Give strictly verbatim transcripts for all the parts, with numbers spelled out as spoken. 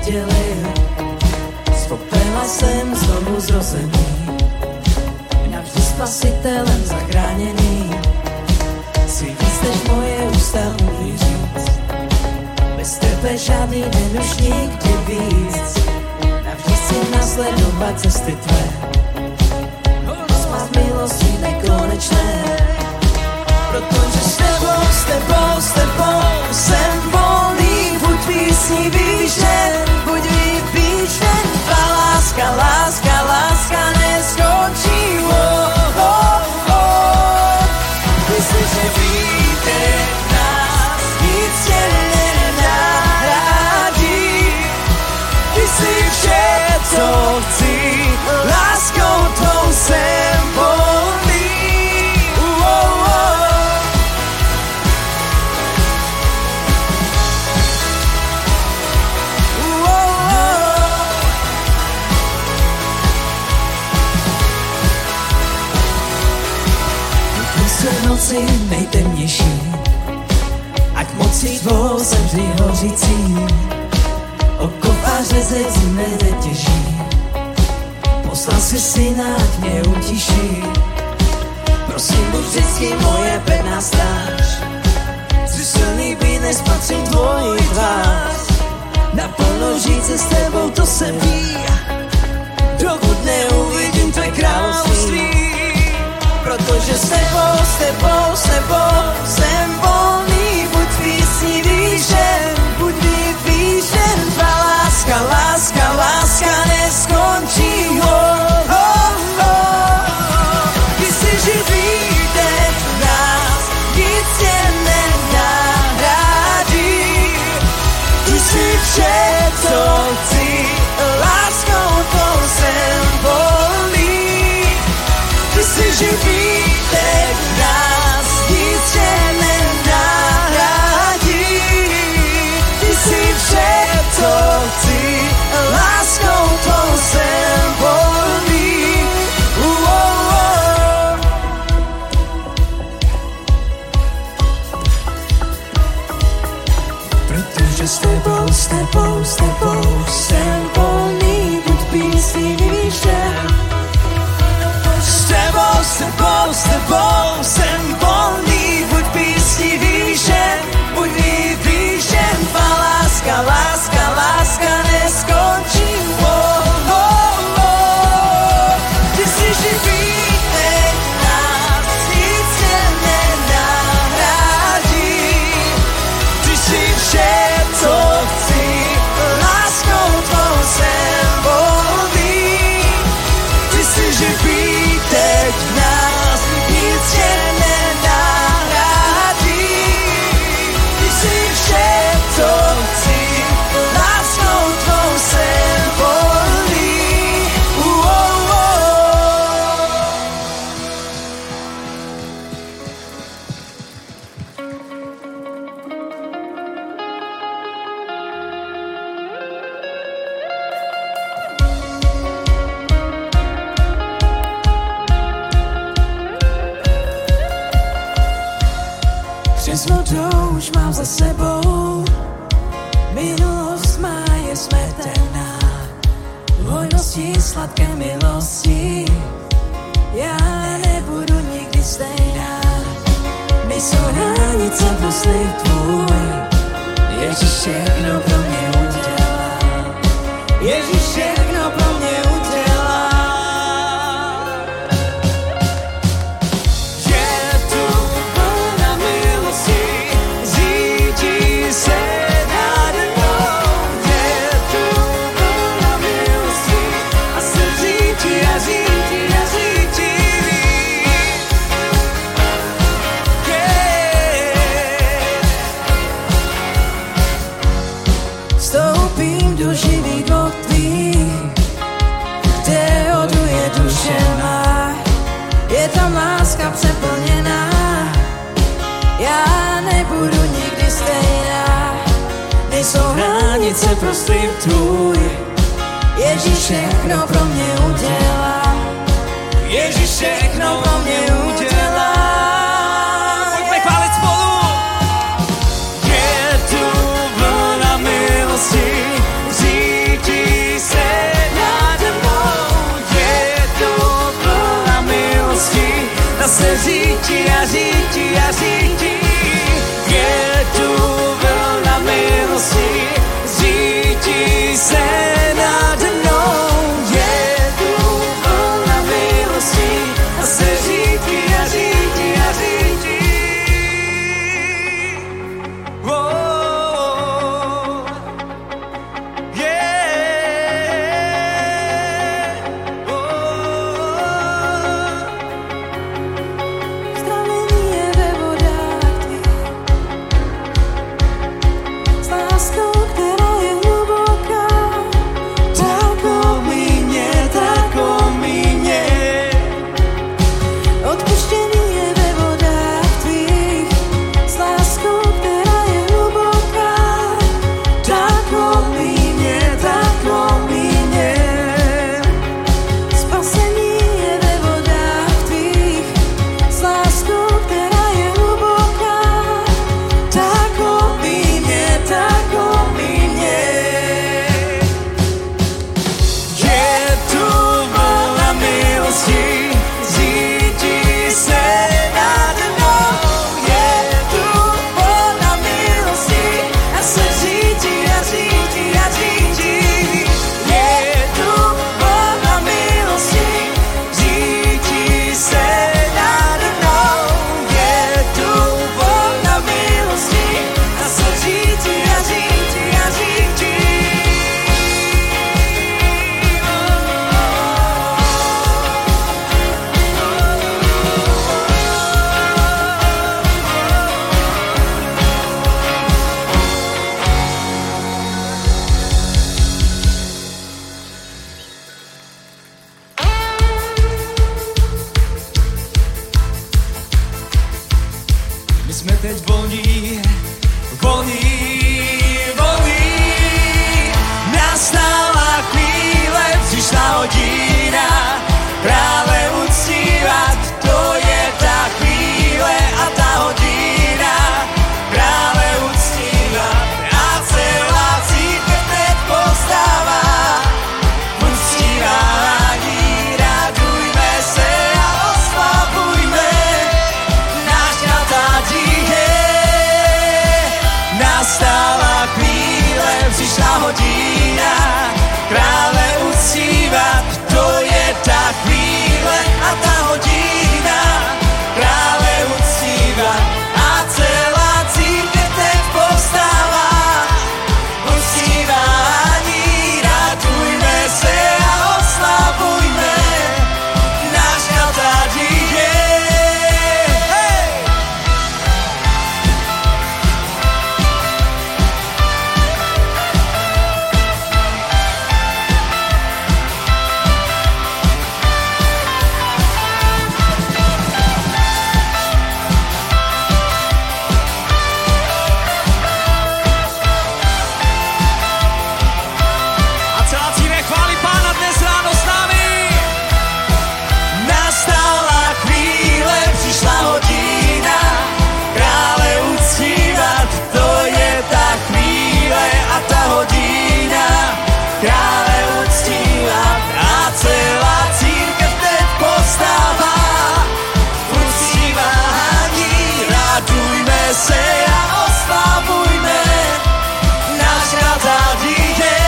oddělil. Z popela jsem znovu zrozený, navždy spasitelem zachráněný. Jsi víc než moje ústa umí říct, bez tebe žádný den už nikdy víc. Navždy si nasledovat cesty tvé, spát milosti nekonečné. Protože s tebou, s tebou, s tebou jsem volný, buď písní výšen, buď vypíšen. Tvá láska, láska, láska neskončí. Oh, oh, oh. Ty jsi živítek nás, nic tě nenahradí. Ty jsi vše, co chci, láskou tvou jsem volný. Oh, oh, oh. Noci nejtemnější, ať mocí tvou jsem vždy hořící. Oko a řezec mne těží, poslal si syna, ať mě utiší. Prosím, buď vždycky moje pevná stráž, jsi silný být, než spatřím tvoji tvář. Naplno žít se s tebou, to se ví, dokud neuvidím tvé království. Protože s tebou, s tebou, s tebou jsem volný, buď písní výšen, buď vypíšen. Tvá láska, láska, láska neskončí. Oh, oh, oh. Ty jsi živý dech v nás, nic tě nenahradí. Ty jsi vše, co chci, láskou tvou jsem volný. Ty jsi živý dech v nás, nic tě nenahradí. Ty jsi vše, co chci, láskou tvou jsem volný. Uh, oh, oh. Protože s tebou, s tebou, s tebou jsem volný, buď písní výšen. S tebou, s tebou, s tebou jsem volný, buď písní výšen, buď vypíšen. Tvá láska, láska, láska neskončí. Oh, oh, oh. Ty jsi živý dech v nás, nic tě nenahradí. Ty jsi vše, co chci, láskou tvou jsem volný. Ty jsi živý dech v nás, nic tě nenahradí. Ty jsi vše, co chci, láskou tvou jsem volný. Uh, oh, oh. Přes vodou už mám za sebou, minulost má je smrtelná. V hojnosti sladké milosti já nebudu nikdy stejná. Nejsou hranice pro slib tvůj, Ježíš všechno pro mě udělá. Ježíš všechno pro mě udělá. Vstoupím do živých vod tvých, kde oduje duše má. Je tam láska přeplněná, já nebudu nikdy stejná. Nejsou hranice pro slib tvůj, Ježíš všechno pro mě udělá. Ježíš všechno pro mě udělá. Pojďme chválit spolu. Je tu vlna milosti, voní, voní, voní. Nastala chvíle, přišla hodina, krále uctívat, to je ta chvíle a ta hodina, krále uctívat. A celá církev teď povstává, uctívání, radujme se a oslavujme, náš král tady je. Nastala chvíle, přišla hodina, krále uctívat, to je ta chvíle a ta hodina, krále uctívat. A celá církev teď povstává, uctívání, radujme se a oslavujme, náš král tady je. Hey! A celá církev chválí Pána dnes ráno s námi. Nastala chvíle, přišla hodina, krále uctívat, to je ta chvíle a ta hodina, krále uctívat. A celá církev teď povstává, uctívání, radujme se a oslavujme, náš král tady je.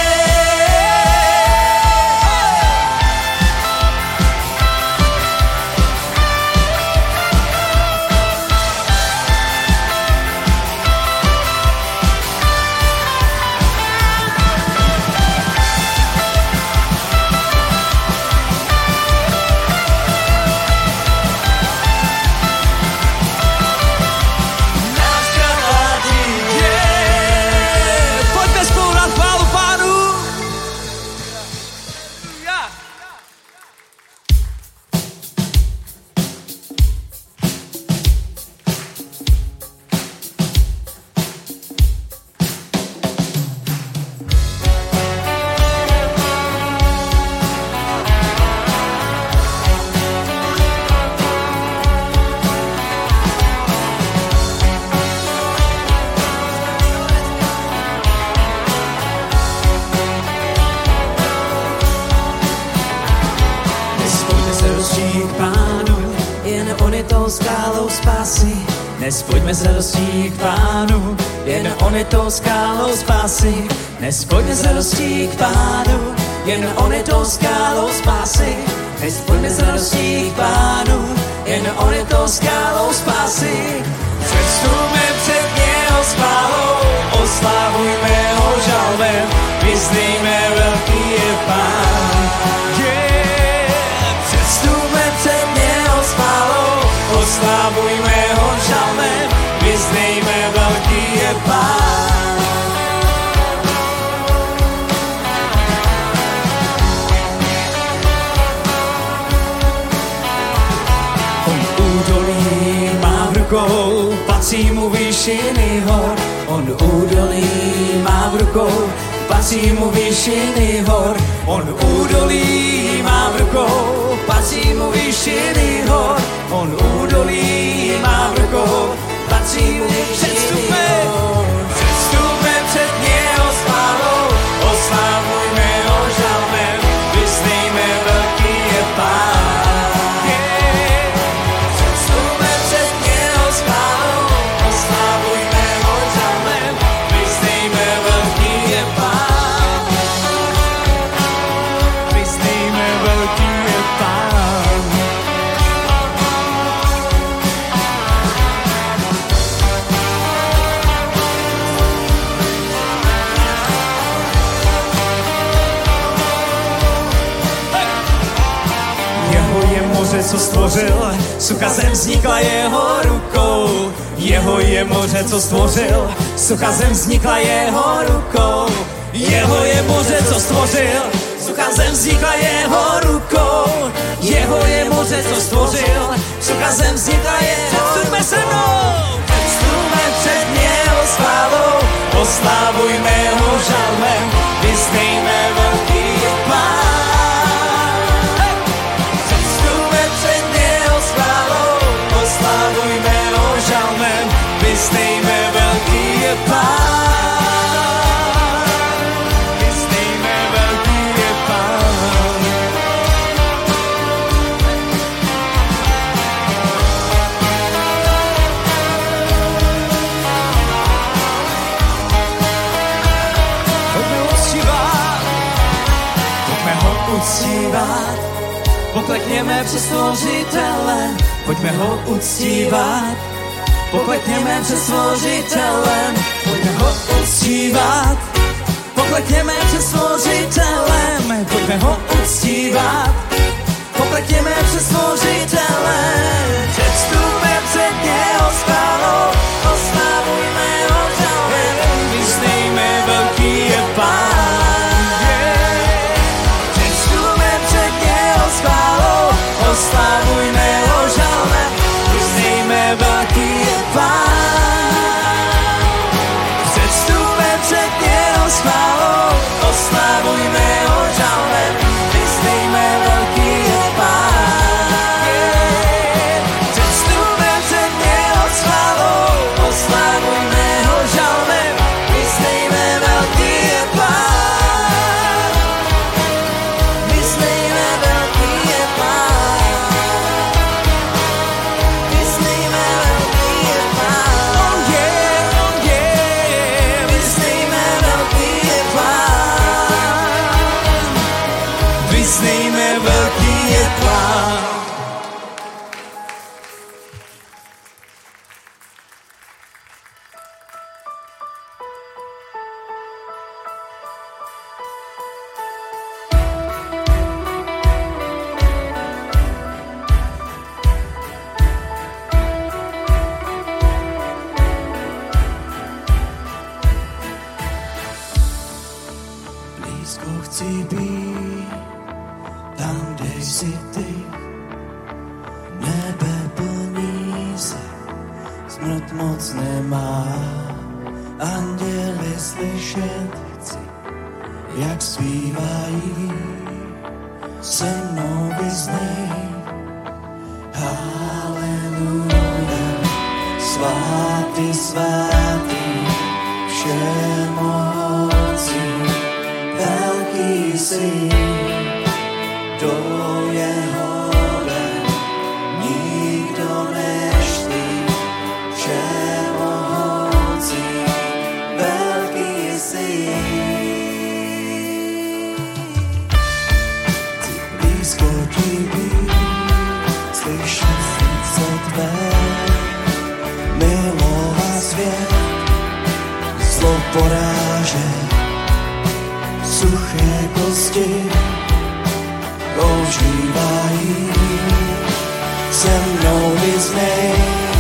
Náš král tady je. Pojďme spolu dát chválu Pánu. Ja. Dnes pojďme se rozčít k Pánu, jen on je tou skálou spásy. Dnes pojďme s radostí k Pánu, jen on je tou skálou spásy. Dnes pojďme s radostí k Pánu, jen on je tou skálou spásy. Dnes pojďme s radostí k Pánu, jen on je tou skálou spásy. Předstupme před něho s chválou, oslavujme ho žalbem, vyznejme velký je Pán. Yeah. Předstupme před něho s chválou, oslavujme ho žalbem, vyznejme velký je Pán. On údolí má v rukou, patří mu výšiny hor. On údolí má v rukou, patří mu výšiny hor. On údolí má v rukou, patří mu výšiny hor. On údolí má v rukou, patří mu výšiny hor. Předstupme před něho s chválou, oslavujme ho žalbem, vyznejme velký je Pán. Yeah. Předstupme před něho s chválou, oslavujme ho žalbem, vyznejme velký je Pán. Vyznejme velký je Pán. Moře, co stvořil, sucha zem vznikla jeho rukou. Jeho je moře, co stvořil, sucha zem vznikla jeho rukou. Jeho je moře, co stvořil, sucha zem vznikla jeho rukou. Jeho je moře, co stvořil, sucha zem vznikla jeho rukou. Předstupme se mnou, předstupme před Poklekněme před Stvořitelem, pojďme ho uctívat. Poklekněme před Stvořitelem, pojďme ho uctívat. Poklekněme před Stvořitelem, pojďme ho uctívat. Poklekněme před Stvořitelem, předstupme před něho s chválou, oslavujme ho žalmem, vyznejme velký je Pán. Předstupme před něho s chválou, oslavujme ho žalmem, vyznejme velký je Pán. Předstupme před něho s chválou, oslavujme ho žalmem, vyznejme velký je Pán. Předstupme před něho s chválou, oslavujme ho žalmem, vyznejme velký je Pán. Vyznejme velký je Pán. Vyznejme velký je Pán. On je, on je. Vyznejme velký je Pán. Vyznejme velký je Pán. Blízko chci být, tam, kde jsi ty. Nebe plní se, smrt moc nemá. Anděli slyšet chci, jak zpívají. Se mnou vyznej, haleluja. Svatý, svatý, všemohoucí, velký jsi, kdo je hoden, nikdo než ty, všemohoucí, velký jsi. Chci blízko ti být, slyšet srdce tvé, milovat svět, zlo porážet. Suché kosti ožívají, se mnou vyznej,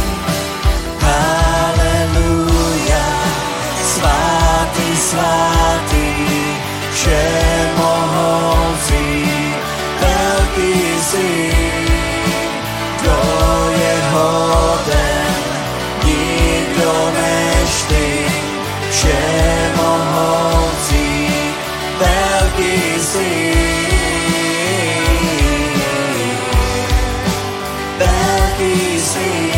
haleluja. Svatý, svatý, všemohoucí, velký jsi, kdo je hoden, nikdo než ty, všemohoucí, velký jsi, velký jsi.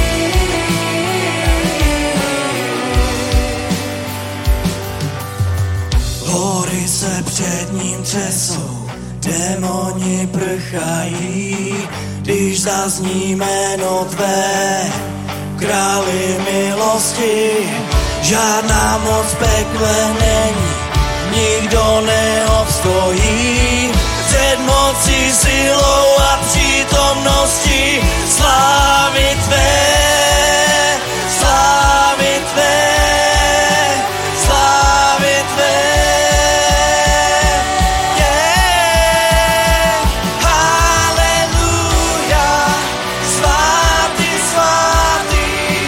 Hory se před ním třesou, démoni prchají, když zazní jméno tvé, králi milosti. Žádná moc v pekle není, nikdo neobstojí před mocí, silou a přítomností slávy tvé, slávy tvé, slávy tvé. Yeah. Haleluja, svatý, svatý,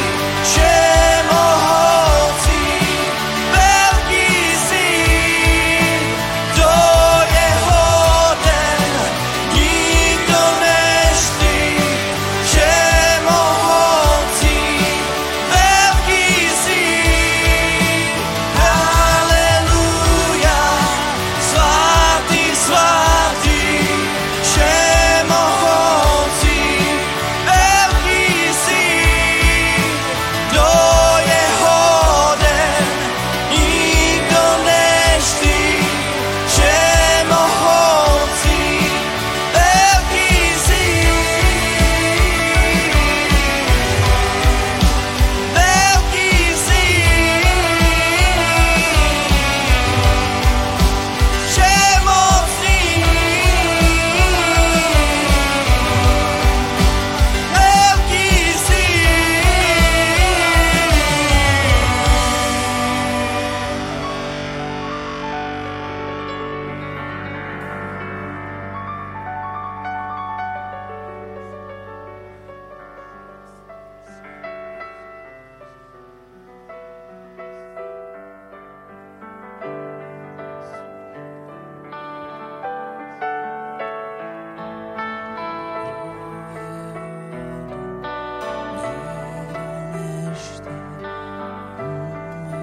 všemohoucí, velký jsi, kdo je hoden, nikdo než ty, všemohoucí.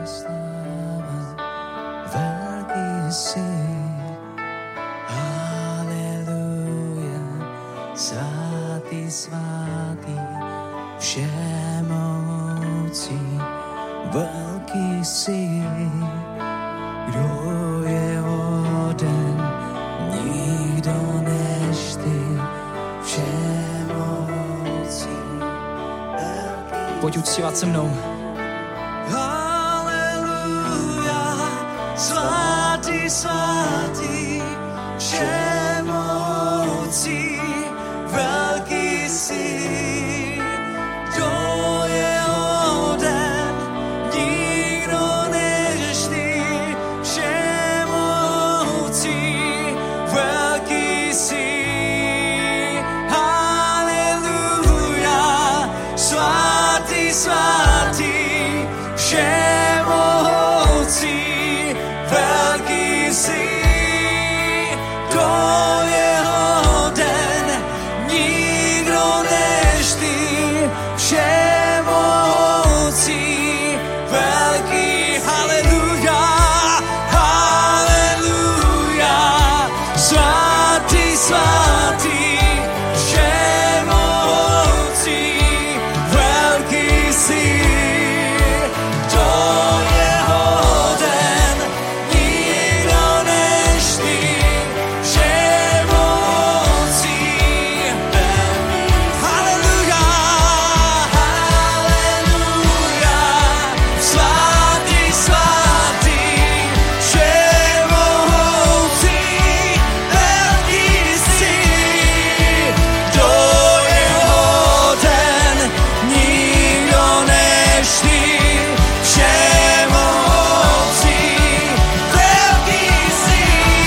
sláva, velký jsi. Haleluja, svatý, svatý, všemohoucí, velký jsi. Kdo je hoden, nikdo než ty, všemohoucí, velký. Pojď uctívat se mnou. Haleluja, svatý, svatý, všemohoucí, velký jsi. Kdo je hoden, nikdo než ty, všemohoucí, velký jsi. Haleluja, svatý, svatý, všemohoucí, velký jsi. Kdo je hoden, nikdo než ty, všemohoucí, velký. Haleluja, haleluja, svatý, svatý, všemohoucí, velký jsi. Kdo je hoden, nikdo než ty, všemohoucí, velký. Haleluja, haleluja, svatý, svatý, všemohoucí, velký jsi. Kdo je hoden, nikdo než ty, všemohoucí, velký jsi.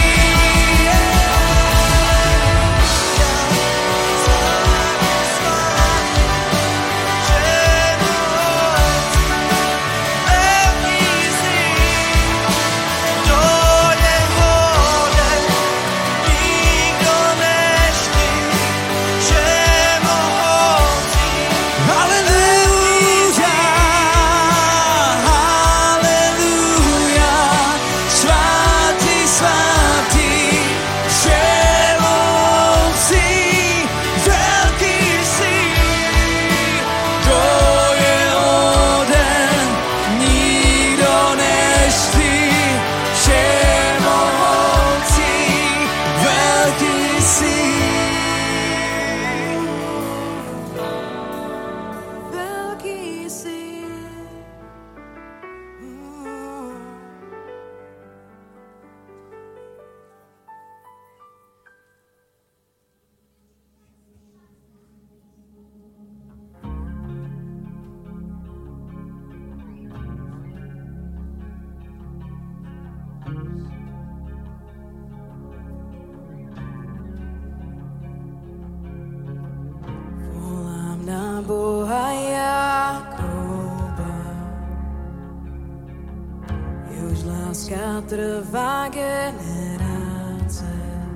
Haleluja, haleluja, svatý, svatý, všemohoucí, velký jsi. Kdo je hoden, nikdo než ty, všemohoucí, velký jsi. Velký jsi. Volám na Boha Jakoba, jehož láska trvá generace.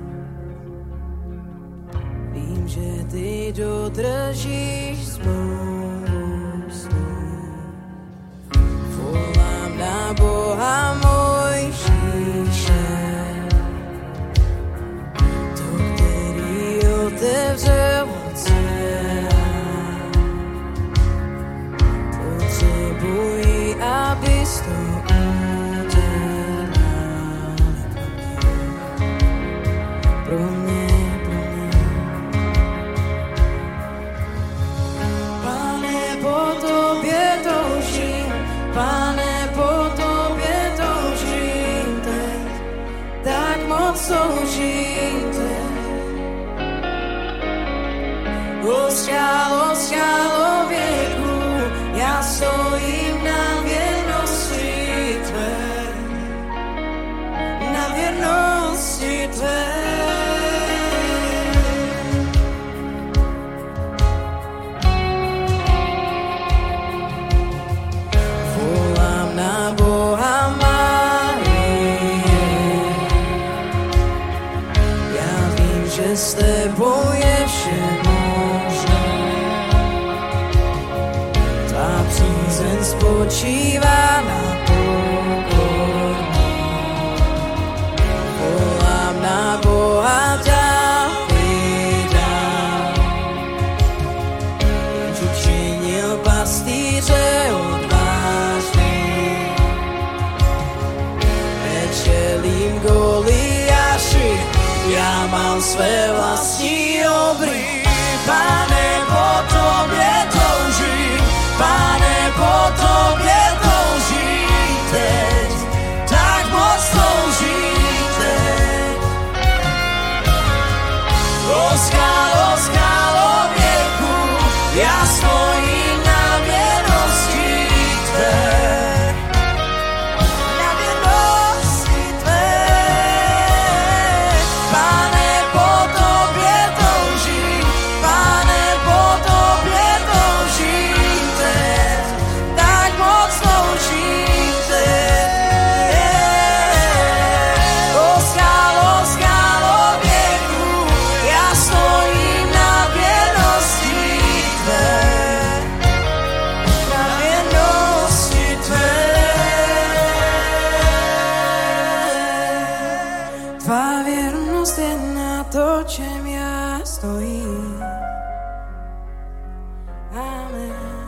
Vím, že ty dodržíš spoustu. Volám na Boha Mojžíše, to, který otevřel oceán. Potřebuji, abys to udělal pro mě, pro mě. Pane, po tobě toužím, Pane, po tobě toužím teď, tak moc toužím teď. O skálo, skálo věku, já stojím na věrnosti tvé, na věrnosti tvé. Volám na Boha Marie, já vím, že s tebou je vše možné. Tvá přízeň spočívá na poli. malým Goliáši, ja mám své vlastní obry. Pane, po tobě toužím, Pane, po tobě toužím teď, tak moc toužím teď. O skálo, skálo věku, ja stojím na věrnosti tvé. Na věrnosti tvé. Pane, po tobě toužím, Pane, po tobě toužím teď, tak moc toužím teď. O skálo, skálo věku, ja stojím na věrnosti tvé. Na věrnosti tvé. Tvá věrnost je na to, čem já stojím. Amen.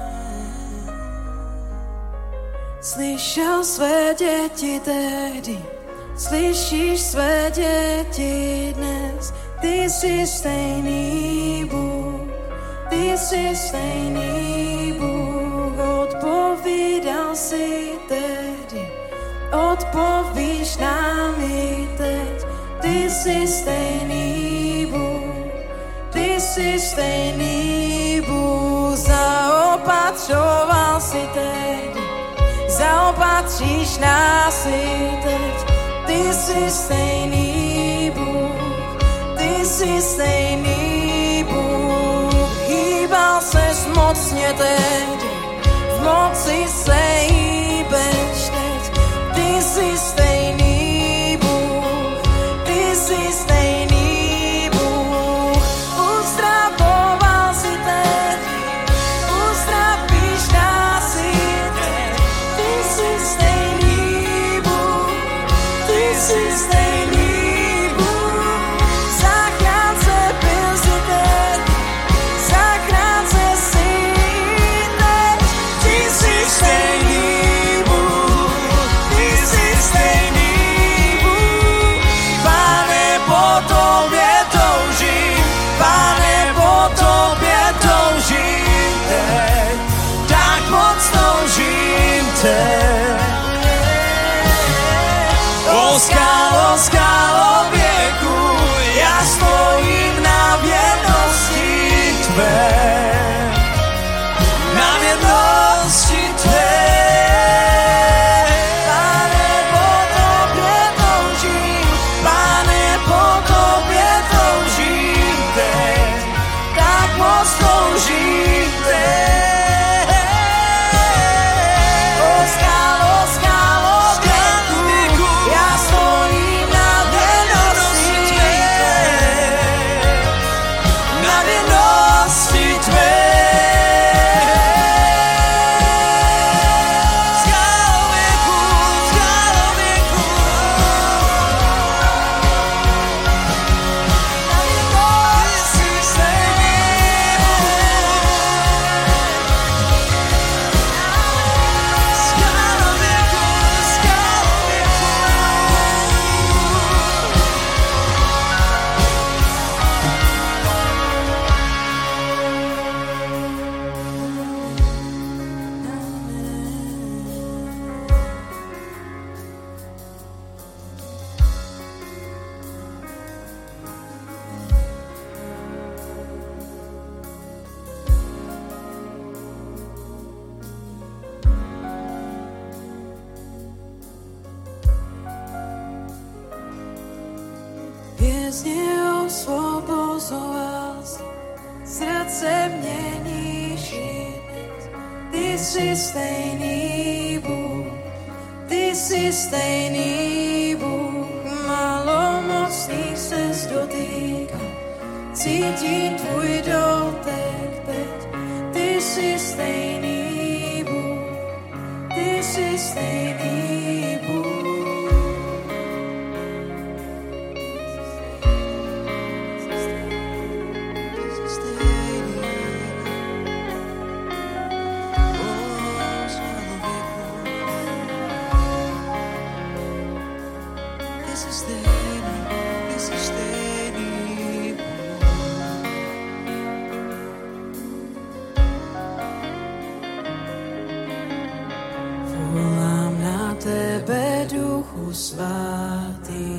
Slyšel své děti tehdy, slyšíš své děti dnes. Ty jsi stejný Bůh, ty jsi stejný Bůh. Odpovídal si tehdy, odpovíš nám i teď. Ty jsi stejný Bůh, ty jsi stejný Bůh. Zaopatřoval si tehdy, zaopatříš nás i teď. Ty jsi stejný Bůh, ty jsi stejný Bůh. Hýbal ses mocně tehdy, v moci se hýbeš teď. Ty jsi stejný Bůh, ty jsi stejný Bůh. Uzdravoval si tehdy, uzdravíš nás i teď. Ty jsi stejný Bůh, ty jsi stejný Bůh. Zachránce byl si teď, zachránce si teď. Ty jsi stejný Bůh, ty jsi stejný Bůh. Pane, po tobě toužím, Pane, po tobě toužím teď, tak moc toužím teď. O skálo, skálo věku, ja stojím na věrnosti tvé. Na věrnosti tvé. Pane, po tobě toužím, Pane, po tobě toužím teď, tak moc toužím teď. O skálo, skálo věku, ja stojím na věrnosti tvé. Na věrnosti tvé. Skálo věku, skálo věku. Na věrnosti stejný Skálo věku, skálo věku. Vězně osvobozoval si, srdce měníš i dnes. Ty jsi stejný Bůh, ty jsi stejný Bůh. Malomocných ses dotýkám, cítím tvůj dotek teď. Ty jsi stejný Bůh, ty jsi stejný Bůh. si stejný, ty si stejný. Volám na tebe, Duchu Svatý,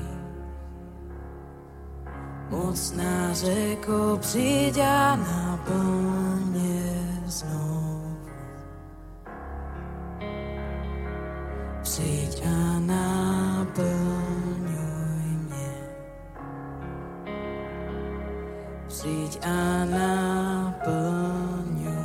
mocná řeko, přijď a naplň mě znovu. Přijď a naplňuj mě. Přijď a naplňuj mě.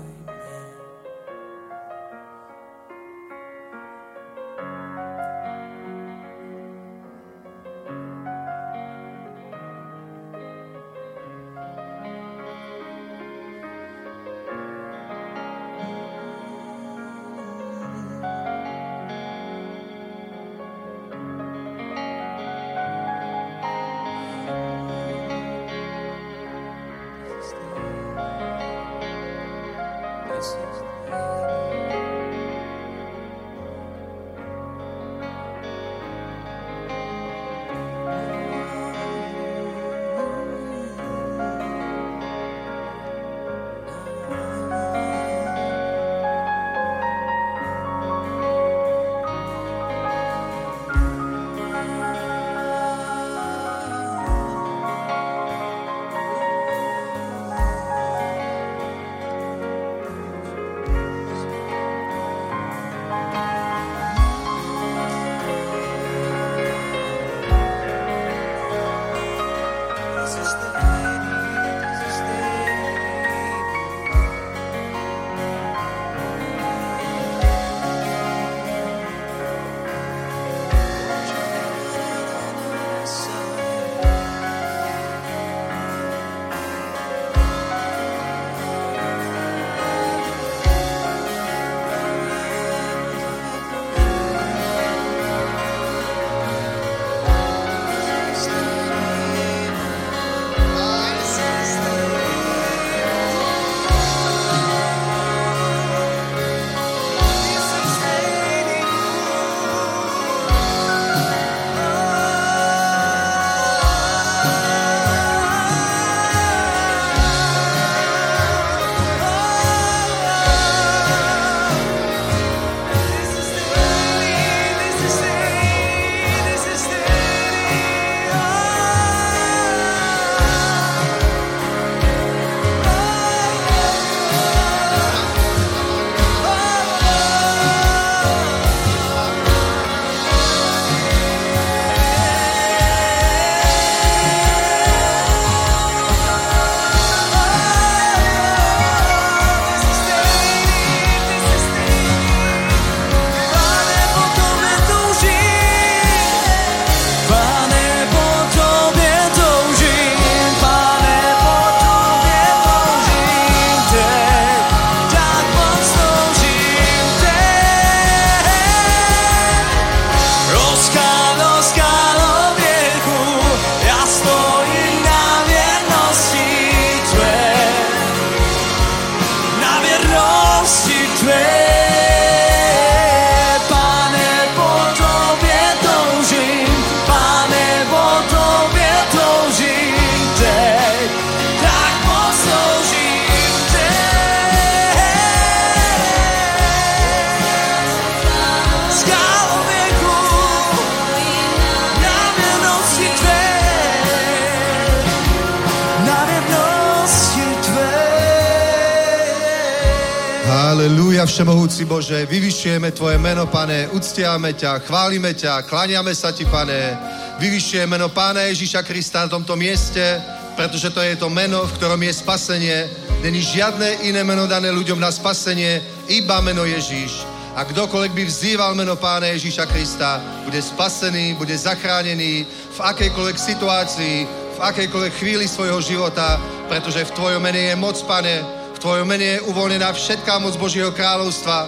Halelúja, všemohúci Bože, vyvyšujeme Tvoje meno, Pane, uctiame ťa, chválime ťa, kláňame sa Ti, Pane. Vyvyšujeme meno Pána Ježíša Krista na tomto mieste, pretože to je to meno, v ktorom je spasenie. Není žiadne iné meno dané ľuďom na spasenie, iba meno Ježíš. A kdokoľvek by vzýval meno Pána Ježíša Krista, bude spasený, bude zachránený v akejkoľvek situácii, v akejkoľvek chvíli svojho života, pretože v Tvojom mene je moc, Pane. V Tvojom mene je uvoľnená všetká moc Božieho kráľovstva.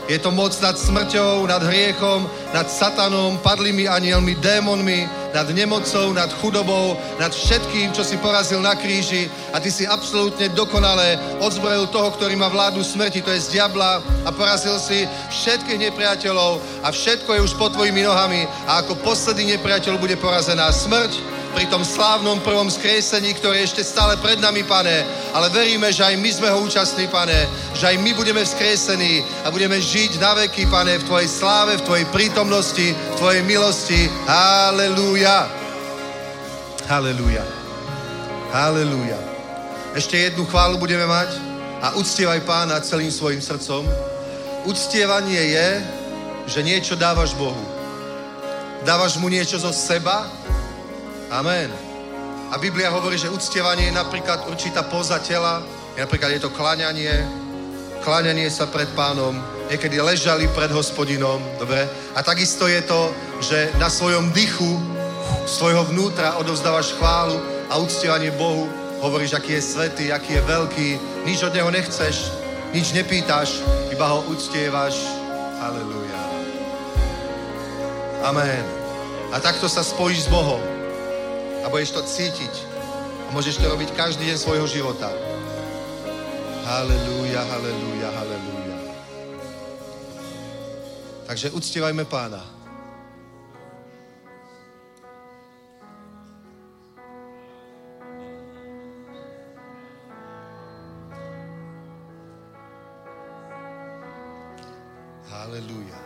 Je to moc nad smrťou, nad hriechom, nad satanom, padlými anielmi, démonmi, nad nemocou, nad chudobou, nad všetkým, čo si porazil na kríži a ty si absolútne dokonale odzbrojil toho, ktorý má vládu smrti, to je z diabla a porazil si všetkých nepriateľov a všetko je už pod tvojimi nohami a ako posledný nepriateľ bude porazená smrť pri tom slávnom prvom skriesení, ktoré je ešte stále pred nami, Pane, ale veríme, že aj my sme ho účastní, Pane, že aj my budeme vzkriesení a budeme žiť na veky, Pane, v tvojej sláve, v tvojej prítomnosti, v tvojej milosti. Halelúja. Halelúja. Halelúja. Ešte jednu chválu budeme mať a uctievaj Pána celým svojim srdcom. Uctievanie je, že niečo dávaš Bohu. Dávaš mu niečo zo seba. Amen. A Biblia hovorí, že uctievanie je napríklad určitá poza tela, napríklad je to kláňanie, kláňanie sa pred Pánom, niekedy ležali pred Hospodinom, dobre? A takisto je to, že na svojom dychu, svojho vnútra odovzdávaš chválu a uctievanie Bohu, hovoríš, aký je svätý, aký je veľký, nič od Neho nechceš, nič nepýtaš, iba ho uctievaš. Halelúja. Amen. A takto sa spojíš s Bohom. A budeš to cítiť. A môžeš to robiť každý deň svojho života. Halelúja, halelúja, halelúja. Takže uctievajme Pána. Halelúja.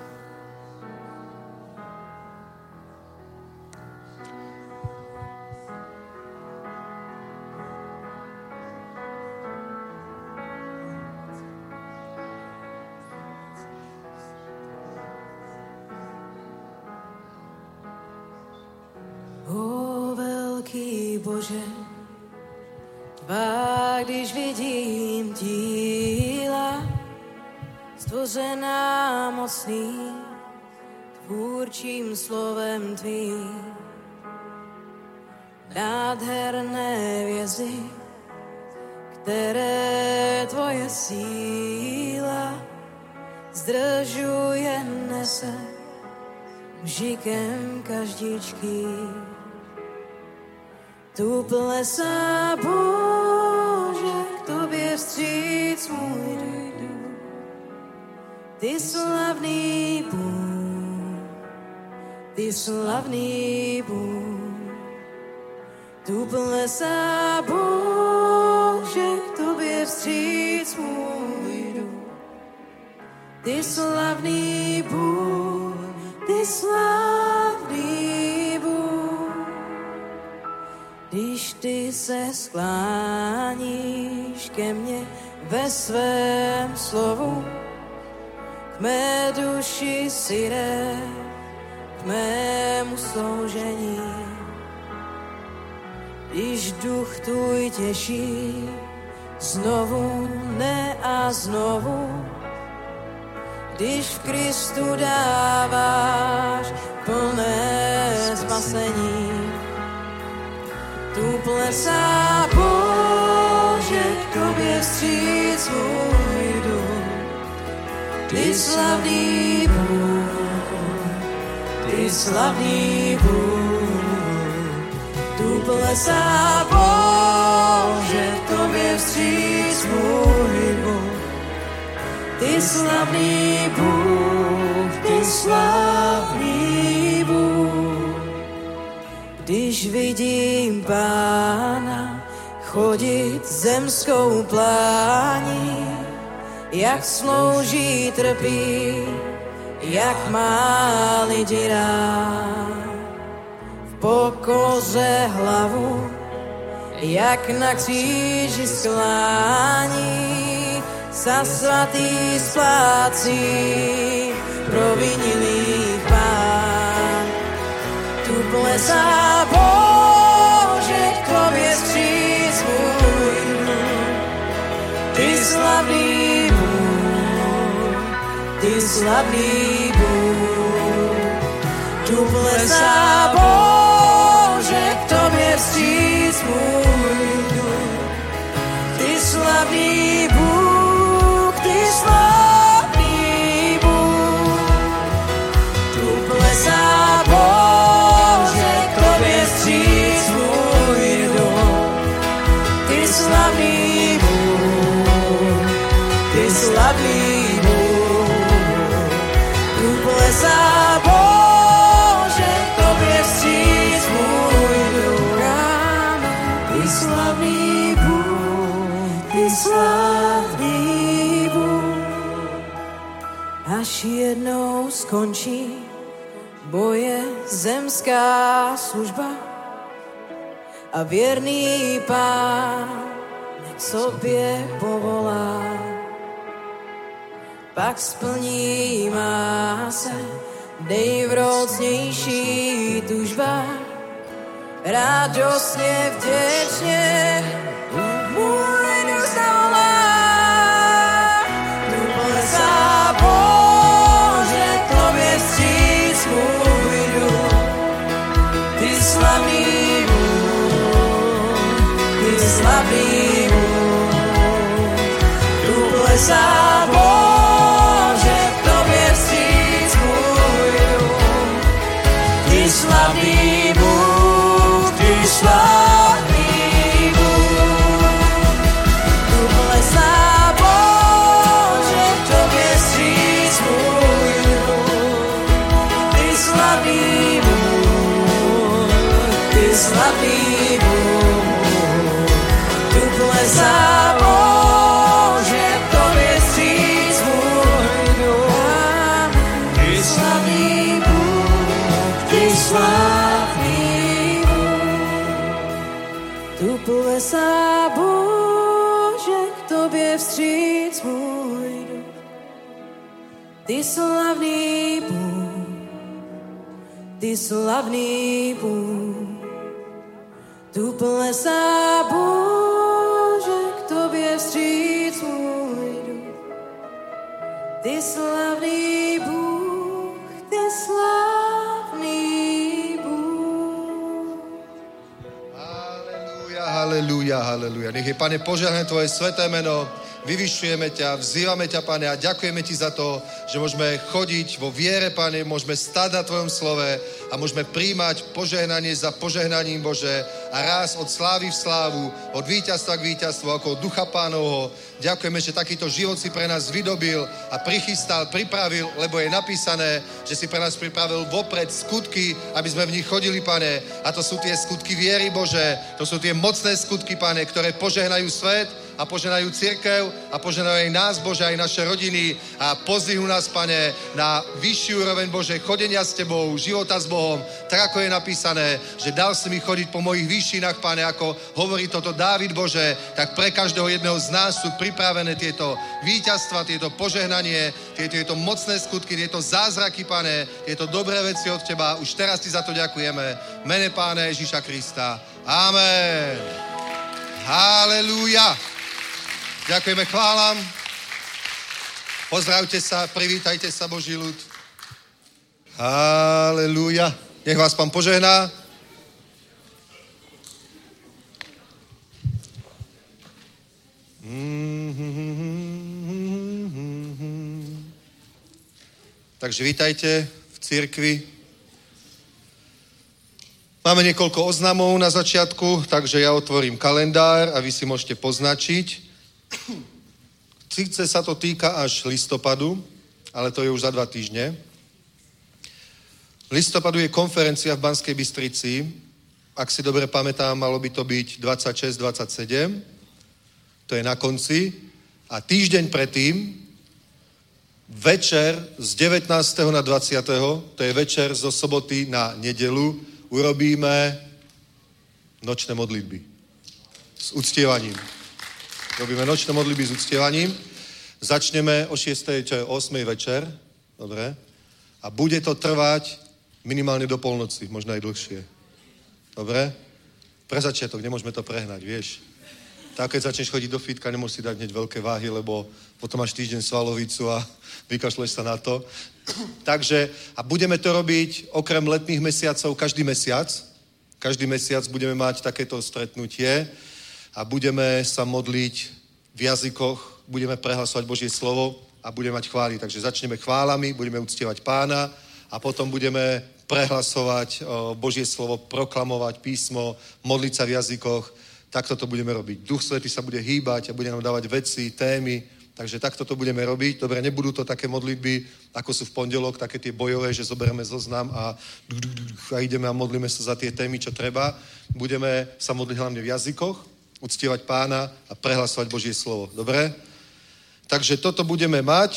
Bože, tvá, když vidím díla, stvořená mocný, tvůrčím slovem tvým, nádherné vězy, které tvoje síla zdržuje, nese mžikem každičky. Tu plesá, Bože, k tobě vstříc můj duch. Ty slavný Bůh, ty slavný Bůh. Tu plesá, Bože, k tobě vstříc můj duch. Ty slavný Bůh, ty slavný Bůh. Když ty se skláníš ke mně ve svém slovu, k mé duši si jde, k mému sloužení. Když duch tvůj těší, znovu, ne a znovu, když v Kristu dáváš plné spasení. Tu plesá, Bože, k tobě vstříc můj duch. Ty slavný Bůh, ty slavný Bůh. Tu plesá, Bože, k tobě vstříc můj Bůh. Ty slavný Bůh, ty slavný Bůh. Když vidím Pána chodit zemskou plání, jak slouží, trpí, jak má lidi rád. V pokoře hlavu, jak na kříži sklání, sa svatý splácí provinilých Pán. Tu plesá, Bože, k tobě vstříc můj duch. Ty slavný Bůh, ty slavný Bůh. Tu plesá, Bože, k tobě vstříc můj duch. Ty slavný Bůh, ty slavný Bůh. až jednou skončí boje zemská služba a věrný Pán k sobě povolá. Pak splní má se nejvroucnější tužba, radostně vděčně můj duch zavolá. Tu plesá Bože, tobě vstříc můj duch, ty slavný Bůh, ty slavný Bůh. Tu plesá Bože, tobě vstříc můj duch, ty slavný Bůh, ty slavný Bůh. Tu plesá Bože, tobě vstříc můj duch, ty slavný Bůh, ty slavný Bůh. Tu plesá Bože, tobě vstříc můj duch, ty slavný Bůh, ty slavný Bůh. Tu plesá Bože, k tobě vstříc můj duch, ty slavný Bůh, ty slavný Bůh. Tu plesá Bože, k tobě vstříc můj duch, ty slavný Bůh, ty slavný Bůh. Haleluja, haleluja, haleluja. Nech je, Pane, požehnané tvoje sveté meno. Vyvyšujeme ťa, vzývame ťa, Pane, a ďakujeme ti za to, že môžeme chodiť vo viere, Pane, môžeme stáť na tvojom slove a môžeme príjmať požehnanie za požehnaním, Bože, a raz od slávy v slávu, od víťazstva k víťazstvu, ako od ducha Pánovho. Ďakujeme, že takýto život si pre nás vydobil a prichystal, pripravil, lebo je napísané, že si pre nás pripravil vopred skutky, aby sme v nich chodili, Pane. A to sú tie skutky viery, Bože. To sú tie mocné skutky, Pane, ktoré požehnajú svet a požehnajú cirkev a požehnajú aj nás, Bože, aj naše rodiny a pozdvihnú nás, Pane, na vyšší úroveň, Bože, chodenia s Tebou, života s Bohom, tak ako je napísané, že dal si mi chodiť po mojich výšinách, Pane, ako hovorí toto Dávid, Bože, tak pre každého jedného z nás sú pripravené tieto víťazstva, tieto požehnanie, tieto, tieto mocné skutky, tieto zázraky, Pane, tieto dobré veci od Teba. Už teraz Ti za to ďakujeme. V mene Pána Ježíša Krista. Amen. Halelúja. Ďakujeme, chválam. Pozdravte sa, privítajte sa, Boží ľud. Halelúja. Nech vás Pán požehná. Takže vítajte v cirkvi. Máme niekoľko oznamov na začiatku, takže ja otvorím kalendár a vy si môžete poznačiť. Síce sa to týka až listopadu, ale to je už za dva týždne. V listopadu je konferencia v Banskej Bystrici. Ak si dobre pamätám, malo by to byť dvadsaťšesť dvadsaťsedem. To je na konci. A týždeň predtým, večer z devätnásteho na dvadsiateho to je večer zo soboty na nedelu, urobíme nočné modlitby s uctievaním. Robíme nočné modlitby s uctievaním. Začneme o šiestej, čo je ôsmej večer. Dobre. A bude to trvať minimálne do polnoci, možno aj dlhšie. Dobre? Pre začiatok, nemôžeme to prehnať, vieš. Tak keď začneš chodiť do fitka, nemôžeš si dať hneď veľké váhy, lebo potom máš týždeň svalovicu a vykašleš sa na to. Takže, a budeme to robiť okrem letných mesiacov každý mesiac. Každý mesiac budeme mať takéto stretnutie a budeme sa modliť v jazykoch, budeme prehlasovať Božie slovo a budeme mať chvály. Takže začneme chválami, budeme uctievať Pána a potom budeme prehlasovať Božie slovo, proklamovať písmo, modliť sa v jazykoch. Takto to budeme robiť. Duch Svätý sa bude hýbať a bude nám dávať veci, témy. Takže takto to budeme robiť. Dobre, nebudú to také modlitby, ako sú v pondelok, také tie bojové, že zoberieme zoznam a, a ideme a modlíme sa za tie témy, čo treba. Budeme sa modliť hlavne v jazykoch, uctievať Pána a prehlasovať Božie slovo. Dobre? Takže toto budeme mať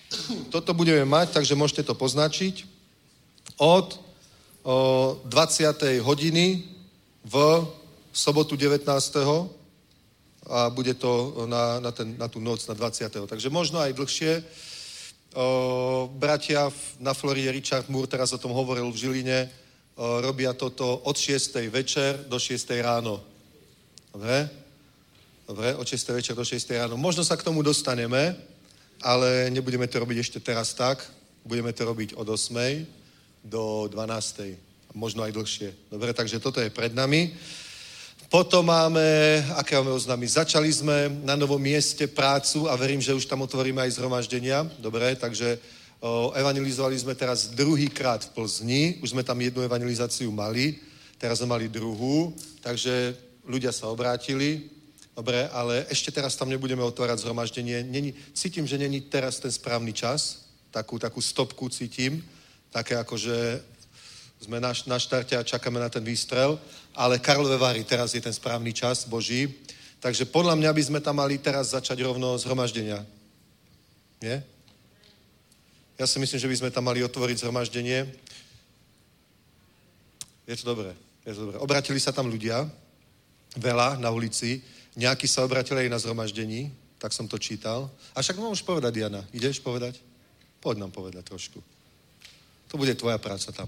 toto budeme mať, takže môžete to poznačiť. Od o, dvadsiatej hodiny v sobotu devätnásteho a bude to na, na, ten, na tú noc, na dvadsiateho Takže možno aj dlhšie. O, bratia na Floride, Richard Moore teraz o tom hovoril v Žiline, o, robia toto od šiestej večer do šiestej ráno. Dobre? Dobre, od šiestej večer do šiestej ráno. Možno sa k tomu dostaneme, ale nebudeme to robiť ešte teraz tak. Budeme to robiť od ôsmej do dvanástej Možno aj dlhšie. Dobre, takže toto je pred nami. Potom máme, aké máme oznámy? Začali sme na novom mieste prácu a verím, že už tam otvoríme aj zhromaždenia. Dobre, takže o, evangelizovali sme teraz druhýkrát v Plzni. Už sme tam jednu evangelizáciu mali. Teraz sme mali druhú. Takže ľudia sa obrátili. Dobre, ale ešte teraz tam nebudeme otvárať zhromaždenie. Není, cítim, že není teraz ten správny čas. Takú, takú stopku cítim. Také ako, že sme na, na štarte a čakáme na ten výstrel. Ale Karlové Vary, teraz je ten správny čas Boží. Takže podľa mňa by sme tam mali teraz začať rovno zhromaždenia. Nie? Ja si myslím, že by sme tam mali otvoriť zhromaždenie. Je to dobré. Je to dobré. Obratili sa tam ľudia. Veľa na ulici. Nejakí sa obratili aj na zhromaždení. Tak som to čítal. A však mám už povedať, Diana. Ideš povedať? Poď nám povedať trošku. To bude tvoja práca tam.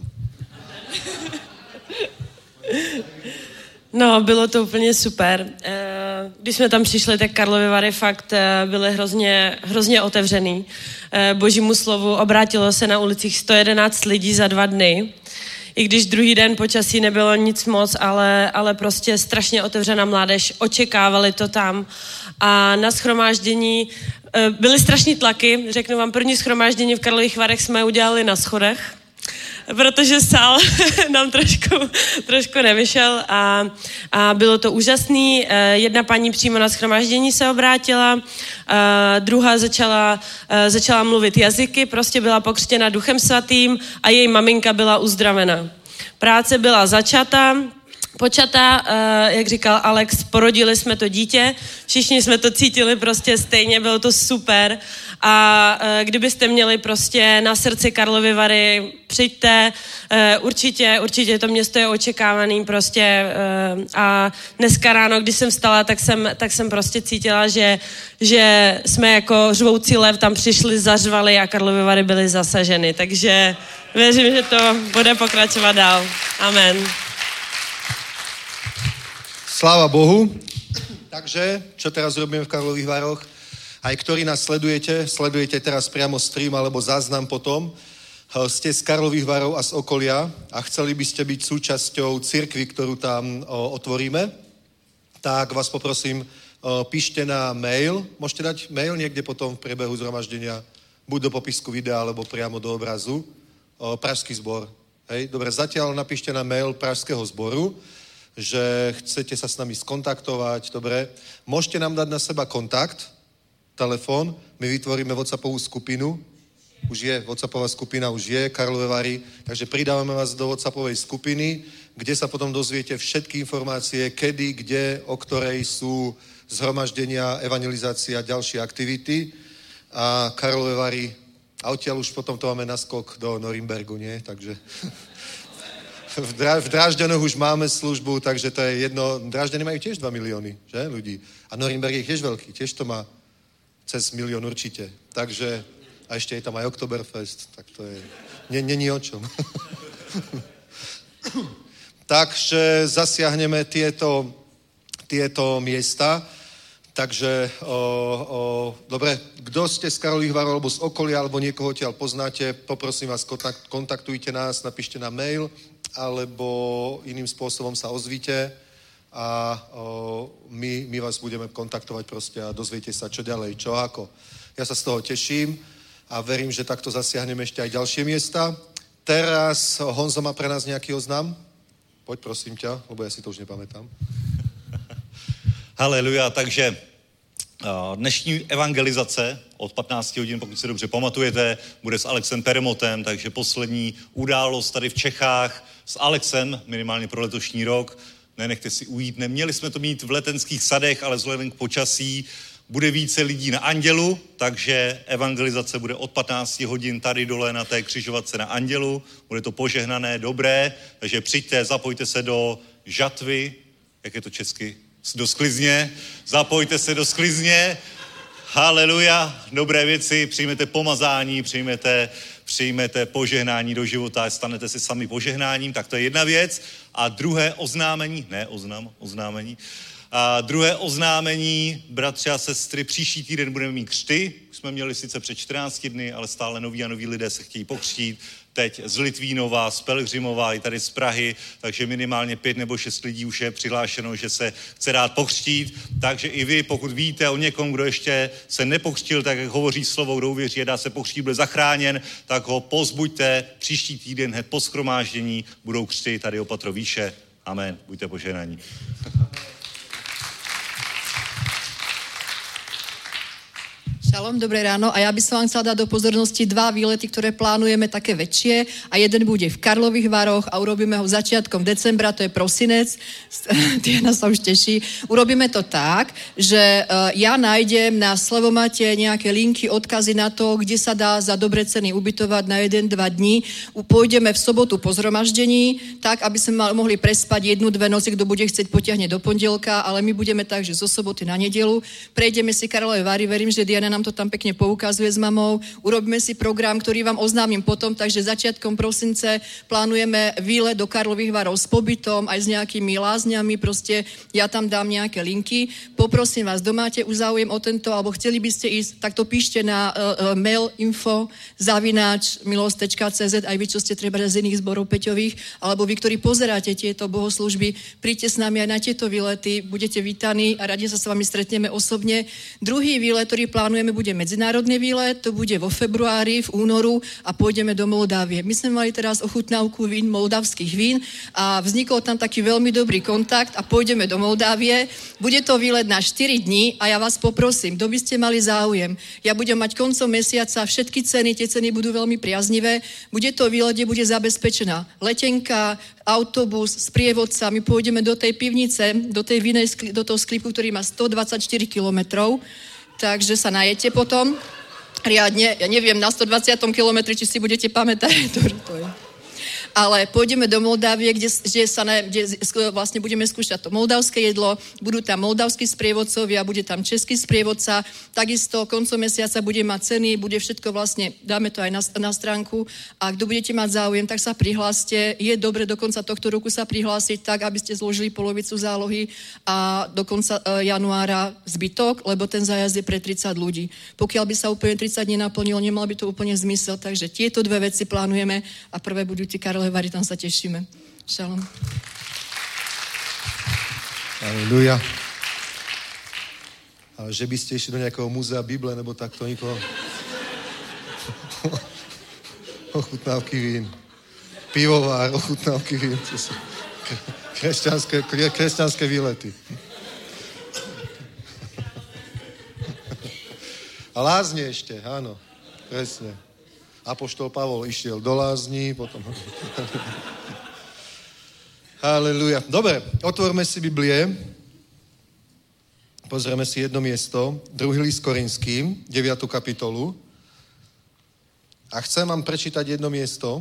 No, bylo to úplně super. Když jsme tam přišli, tak Karlovy Vary fakt byly hrozně, hrozně otevřený Božímu slovu. Obrátilo se na ulicích sto jedenáct lidí za dva dny. I když druhý den počasí nebylo nic moc, ale, ale prostě strašně otevřená mládež. Očekávali to tam. A na shromáždění byly strašní tlaky. Řeknu vám, první shromáždění v Karlových Varech jsme udělali na schodech, protože sál nám trošku, trošku nevyšel a, a bylo to úžasný. Jedna paní přímo na shromáždění se obrátila, druhá začala, začala mluvit jazyky, prostě byla pokřtěna Duchem Svatým a její maminka byla uzdravena. Práce byla začata, počata, jak říkal Alex, porodili jsme to dítě, všichni jsme to cítili prostě stejně, bylo to super a kdybyste měli prostě na srdci Karlovy Vary, přijďte, určitě, určitě to město je očekávaný prostě a dneska ráno, když jsem vstala, tak jsem, tak jsem prostě cítila, že, že jsme jako řvoucí lev tam přišli, zařvali a Karlovy Vary byly zasaženy, takže věřím, že to bude pokračovat dál. Amen. Sláva Bohu. Takže, čo teraz robíme v Karlových Varoch? Aj ktorí nás sledujete, sledujete teraz priamo stream alebo záznam potom, ste z Karlových Varov a z okolia a chceli by ste byť súčasťou cirkvi, ktorú tam o, otvoríme, tak vás poprosím, o, píšte na mail. Môžete dať mail niekde potom v priebehu zhromaždenia, buď do popisku videa, alebo priamo do obrazu. O, Pražský zbor. Hej, dobre, zatiaľ napíšte na mail Pražského zboru, že chcete sa s nami skontaktovať, dobre. Môžete nám dať na seba kontakt, telefón, my vytvoríme WhatsAppovú skupinu, už je, WhatsAppová skupina už je, Karlové Vary, takže pridávame vás do WhatsAppovej skupiny, kde sa potom dozviete všetky informácie, kedy, kde, o ktorej sú zhromaždenia, evangelizácia, ďalšie aktivity a Karlové Vary, a odtiaľ už potom to máme naskok do Norimbergu, nie? Takže... V, Dra- v Drážďanoch už máme službu, takže to je jedno. Drážďany majú tiež dva milióny, že, ľudí. A Norimberg je tiež veľký, tiež to má cez milión určite. Takže, a ešte je tam aj Oktoberfest, tak to je, není o čom. Takže zasiahneme tieto, tieto miesta. Takže, o, o, dobre, kdo ste z Karlových Varov, alebo z okolia, alebo niekoho odtiaľ poznáte, poprosím vás, kontakt, kontaktujte nás, napíšte na mail, alebo iným spôsobom sa ozvíte a o, my, my vás budeme kontaktovať proste a dozviete sa, čo ďalej, čo ako. Ja sa z toho teším a verím, že takto zasiahneme ešte aj ďalšie miesta. Teraz Honzo má pre nás nejaký oznam? Poď, prosím ťa, lebo ja si to už nepamätám. Haleluja, takže dnešní evangelizace od patnácti hodin, pokud se dobře pamatujete, bude s Alexem Peremotem, takže poslední událost tady v Čechách s Alexem, minimálně pro letošní rok. Nenechte si ujít. Neměli jsme to mít v Letenských sadech, ale vzhledem k počasí bude více lidí na Andělu, takže evangelizace bude od patnácti hodin tady dole na té křižovatce na Andělu. Bude to požehnané, dobré, takže přijďte, zapojte se do žatvy, jak je to česky, do sklizně, zapojte se do sklizně, haleluja, dobré věci, přijmete pomazání, přijmete, přijmete požehnání do života, stanete si sami požehnáním, tak to je jedna věc. A druhé oznámení, ne oznám, oznámení, a druhé oznámení, bratři a sestry, příští týden budeme mít křty. Už jsme měli sice před čtrnácti dny, ale stále noví a noví lidé se chtějí pokřtít. Teď z Litvínova, z Pelhřimova, i tady z Prahy, takže minimálně pět nebo šest lidí už je přihlášeno, že se chce dát pokřtít. Takže i vy, pokud víte o někom, kdo ještě se nepokřtil, tak jak hovoří slovo, kdo uvěří a dá se pokřtít, bude zachráněn, tak ho pozbuďte. Příští týden hned po shromáždění budou křty tady opatro výše. Amen. Buďte požehnaní. Šalom, dobré ráno. A ja by som vám chcela dať do pozornosti dva výlety, ktoré plánujeme také väčšie. A jeden bude v Karlových Varoch a urobíme ho začiatkom decembra, to je prosinec. Diana sa už teší. Urobíme to tak, že ja nájdem na Slevomate nejaké linky, odkazy na to, kde sa dá za dobré ceny ubytovať na jeden, dva dní. Pôjdeme v sobotu po zhromaždení, tak, aby sme mohli prespať jednu, dve noci, kto bude chcieť potiahne do pondelka, ale my budeme tak, že zo soboty na nedelu. Prejdeme si Karlové Vary, verím, že Diana nám to tam pekne poukazuje s mamou. Urobíme si program, ktorý vám oznámim potom, takže začiatkom prosince plánujeme výlet do Karlových Varov s pobytom, aj s nejakými lázňami, proste ja tam dám nejaké linky. Poprosím vás, kto máte už záujem o tento, alebo chceli by ste ísť, tak to píšte na uh, uh, mail info zavináč milosť tečka cé zet, aj vy, čo ste treba z iných zborov Peťových, alebo vy, ktorí pozeráte tieto bohoslúžby, príďte s nami aj na tieto výlety, budete vítaní a radi sa s vami stretneme osobne. Druhý výlet, ktorý plánujeme, bude medzinárodný výlet, to bude vo februári, v únoru a pôjdeme do Moldávie. My sme mali teraz ochutnávku vín, moldavských vín a vznikol tam taký veľmi dobrý kontakt a pôjdeme do Moldávie. Bude to výlet na štyri dní a ja vás poprosím, kto by ste mali záujem. Ja budem mať koncom mesiaca všetky ceny, tie ceny budú veľmi priaznivé. Bude to výlet, kde bude zabezpečená letenka, autobus, sprievodca. My pôjdeme do tej pivnice, do tej vinej, do toho sklípku, ktorý má stodvadsaťštyri kilometrov. Takže sa najete potom riadne. Ja neviem, na stodvadsiatom kilometri, či si budete pamätať. To, to je. Ale pôjdeme do Moldávie, kde, kde, sa ne, kde vlastne budeme skúšať to moldavské jedlo, budú tam moldavskí sprievodcovia, bude tam český sprievodca, takisto koncom mesiaca bude mať ceny, bude všetko vlastne, dáme to aj na, na stránku a kto budete mať záujem, tak sa prihláste. Je dobre do konca tohto roku sa prihlásiť tak, aby ste zložili polovicu zálohy a do konca e, januára zbytok, lebo ten zájazd je pre tridsať ľudí. Pokiaľ by sa úplne tridsať nenaplnilo, nemal by to úplne zmysel, takže tieto dve veci plánujeme a prvé budú ti Karle Vary, tam sa tešíme. Šalom. Aleluja. Ale že by ste išli do nejakého múzea Bible, nebo takto nikoho... ochutnávky vín. Pivovár, ochutnávky vín. To sú kresťanské, kresťanské výlety. A lázne ešte, áno. Presne. Apoštol Pavol išiel do lázní, potom... Haleluja. Dobre, otvorme si Biblie. Pozrieme si jedno miesto. Druhý list Korinským, deviatu kapitolu. A chcem vám prečítať jedno miesto.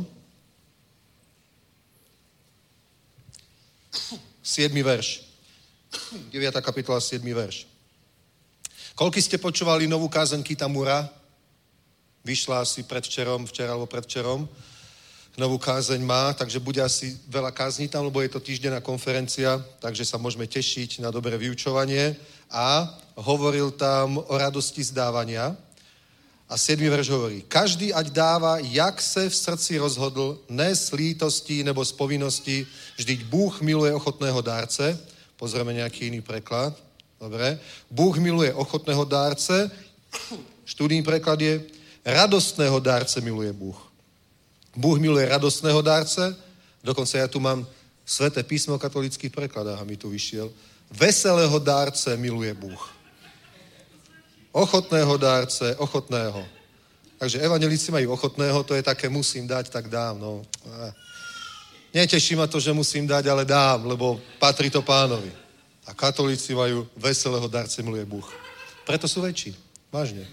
siedmy verš. deviata kapitola, siedmy verš. Koľko ste počúvali novú kázeň Kitamura? Vyšla asi predvčerom, včera alebo predvčerom. Novú kázeň má, takže bude asi veľa kázní tam, lebo je to týždenná konferencia, takže sa môžeme tešiť na dobré vyučovanie. A hovoril tam o radosti zdávania. A siedmy verš hovorí, každý ať dáva, jak se v srdci rozhodl, ne z lítostí nebo z povinnosti, vždyť Bůh miluje ochotného dárce. Pozrieme nejaký iný preklad. Dobre. Bůh miluje ochotného dárce. Študijný preklad je, radostného dárce miluje Bůh. Bůh miluje radostného dárce, dokonce ja tu mám Sveté písmo v katolických prekladách a mi tu vyšiel. Veselého dárce miluje Bůh. Ochotného dárce, ochotného. Takže evangelíci majú ochotného, to je také musím dať, tak dám. No. Neteší ma to, že musím dať, ale dám, lebo patrí to Pánovi. A katolíci majú veselého dárce miluje Bůh. Preto sú väčší. Vážne.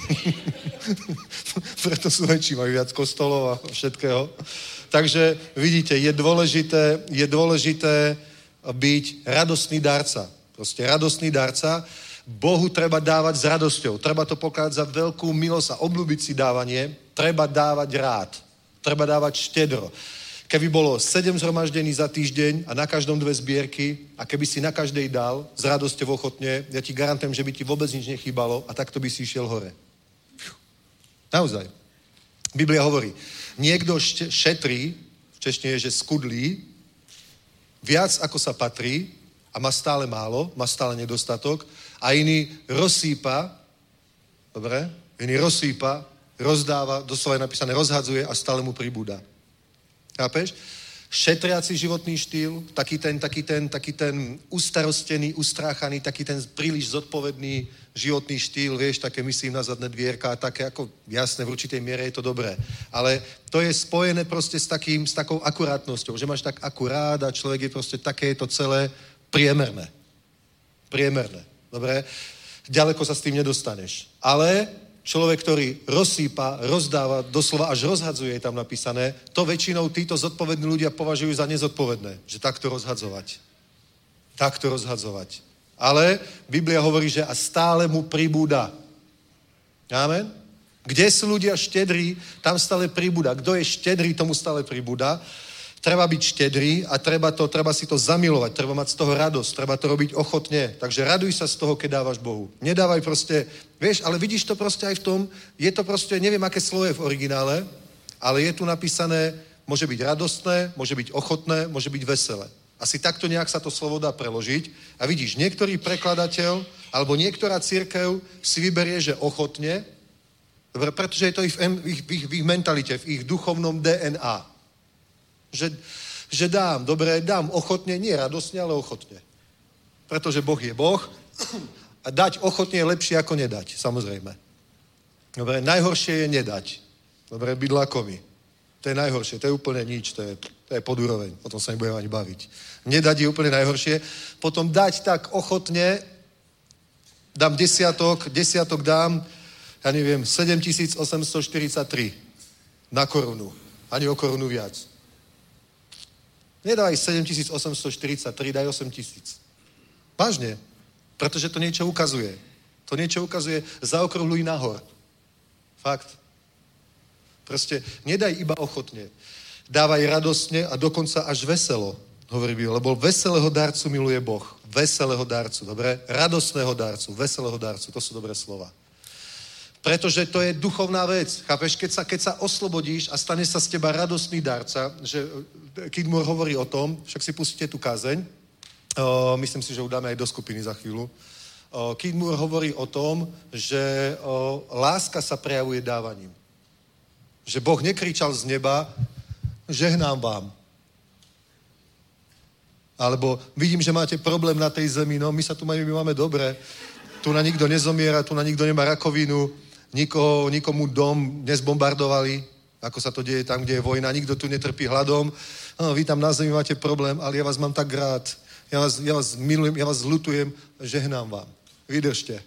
Preto sú väčší, majú viac kostolov a všetkého. Takže vidíte, je dôležité, je dôležité byť radostný darca. Proste radostný darca. Bohu treba dávať s radosťou. Treba to pokladať za veľkú milosť a obľúbiť si dávanie. Treba dávať rád. Treba dávať štedro. Keby bolo sedem zhromaždení za týždeň a na každom dve zbierky a keby si na každej dal s radosťou ochotne, ja ti garantujem, že by ti vôbec nič nechýbalo a takto by si išiel hore. Naozaj. Biblia hovorí, niekto šetrí, v češtine je, že skudlí, viac ako sa patrí a má stále málo, má stále nedostatok a iný rozsýpa, dobre, iný rozsýpa, rozdáva, doslova je napísané, rozhadzuje a stále mu pribúda. Chápeš? Šetriaci životný štýl, taký ten, taký ten, taký ten ustarostený, ustráchaný, taký ten príliš zodpovedný životný štýl, vieš, také myslím na zadné dvierka, také ako, jasné, v určitej miere je to dobré. Ale to je spojené proste s takým, s takou akurátnosťou, že máš tak akurát a človek je proste také, je to celé priemerné. Priemerné, dobre? Ďaleko sa s tým nedostaneš. Ale človek, ktorý rozsýpa, rozdáva, doslova až rozhadzuje, je tam napísané, to väčšinou títo zodpovední ľudia považujú za nezodpovedné, že takto rozhadzovať. Takto rozhadzovať. Ale Biblia hovorí, že a stále mu pribúda. Amen? Kde sú ľudia štedrí, tam stále pribúda. Kto je štedrý, tomu stále pribúda. Treba byť štedrý a treba, to, treba si to zamilovať, treba mať z toho radosť, treba to robiť ochotne. Takže raduj sa z toho, keď dávaš Bohu. Nedávaj proste, vieš, ale vidíš to proste aj v tom, je to proste, neviem, aké slovo je v originále, ale je tu napísané, môže byť radostné, môže byť ochotné, môže byť veselé. Asi takto nejak sa to slovo dá preložiť. A vidíš, niektorý prekladateľ alebo niektorá cirkev si vyberie, že ochotne, dobre, pretože je to ich v, ich, v, ich, v ich mentalite, v ich duchovnom dé en á. Že, že dám, dobre, dám ochotne, nie radosne, ale ochotne. Pretože Boh je Boh a dať ochotne je lepšie ako nedať, samozrejme. Dobre, najhoršie je nedať. Dobre, byť lakomý. To je najhoršie, to je úplne nič, to je, to je podúroveň, o tom sa nebudeme ani baviť. Nedať je úplne najhoršie, potom dať tak ochotne, dám desiatok, desiatok dám, ja neviem, sedemtisíc osemstoštyridsaťtri na korunu, ani o korunu viac. Nedávaj sedemtisíc osemstoštyridsaťtri, daj osem tisíc. Vážne, pretože to niečo ukazuje. To niečo ukazuje, zaokrúhľuj nahor. Fakt. Proste nedaj iba ochotne. Dávaj radostne a dokonca až veselo, hovorí Biblia, lebo veselého darcu miluje Boh. Veselého darcu, dobre? Radostného darcu, veselého darcu, to sú dobré slova. Pretože to je duchovná vec. Chápeš, keď sa, keď sa oslobodíš a stane sa z teba radostný darca, že Kid Moore hovorí o tom, však si pustíte tú kázeň, o, myslím si, že ju dáme aj do skupiny za chvíľu. O, Kid Moore hovorí o tom, že o, láska sa prejavuje dávaním. Že Boh nekričal z neba, žehnám vám. Alebo vidím, že máte problém na tej zemi, no my sa tu máme, my máme dobre. Tu na nikto nezomiera, tu na nikto nemá rakovinu, nikoho, nikomu dom nezbombardovali, ako sa to deje tam, kde je vojna, nikto tu netrpí hladom. No, vy tam na zemi máte problém, ale ja vás mám tak rád. Ja vás, ja vás milujem, ja vás ľutujem, žehnám vám. Vydržte.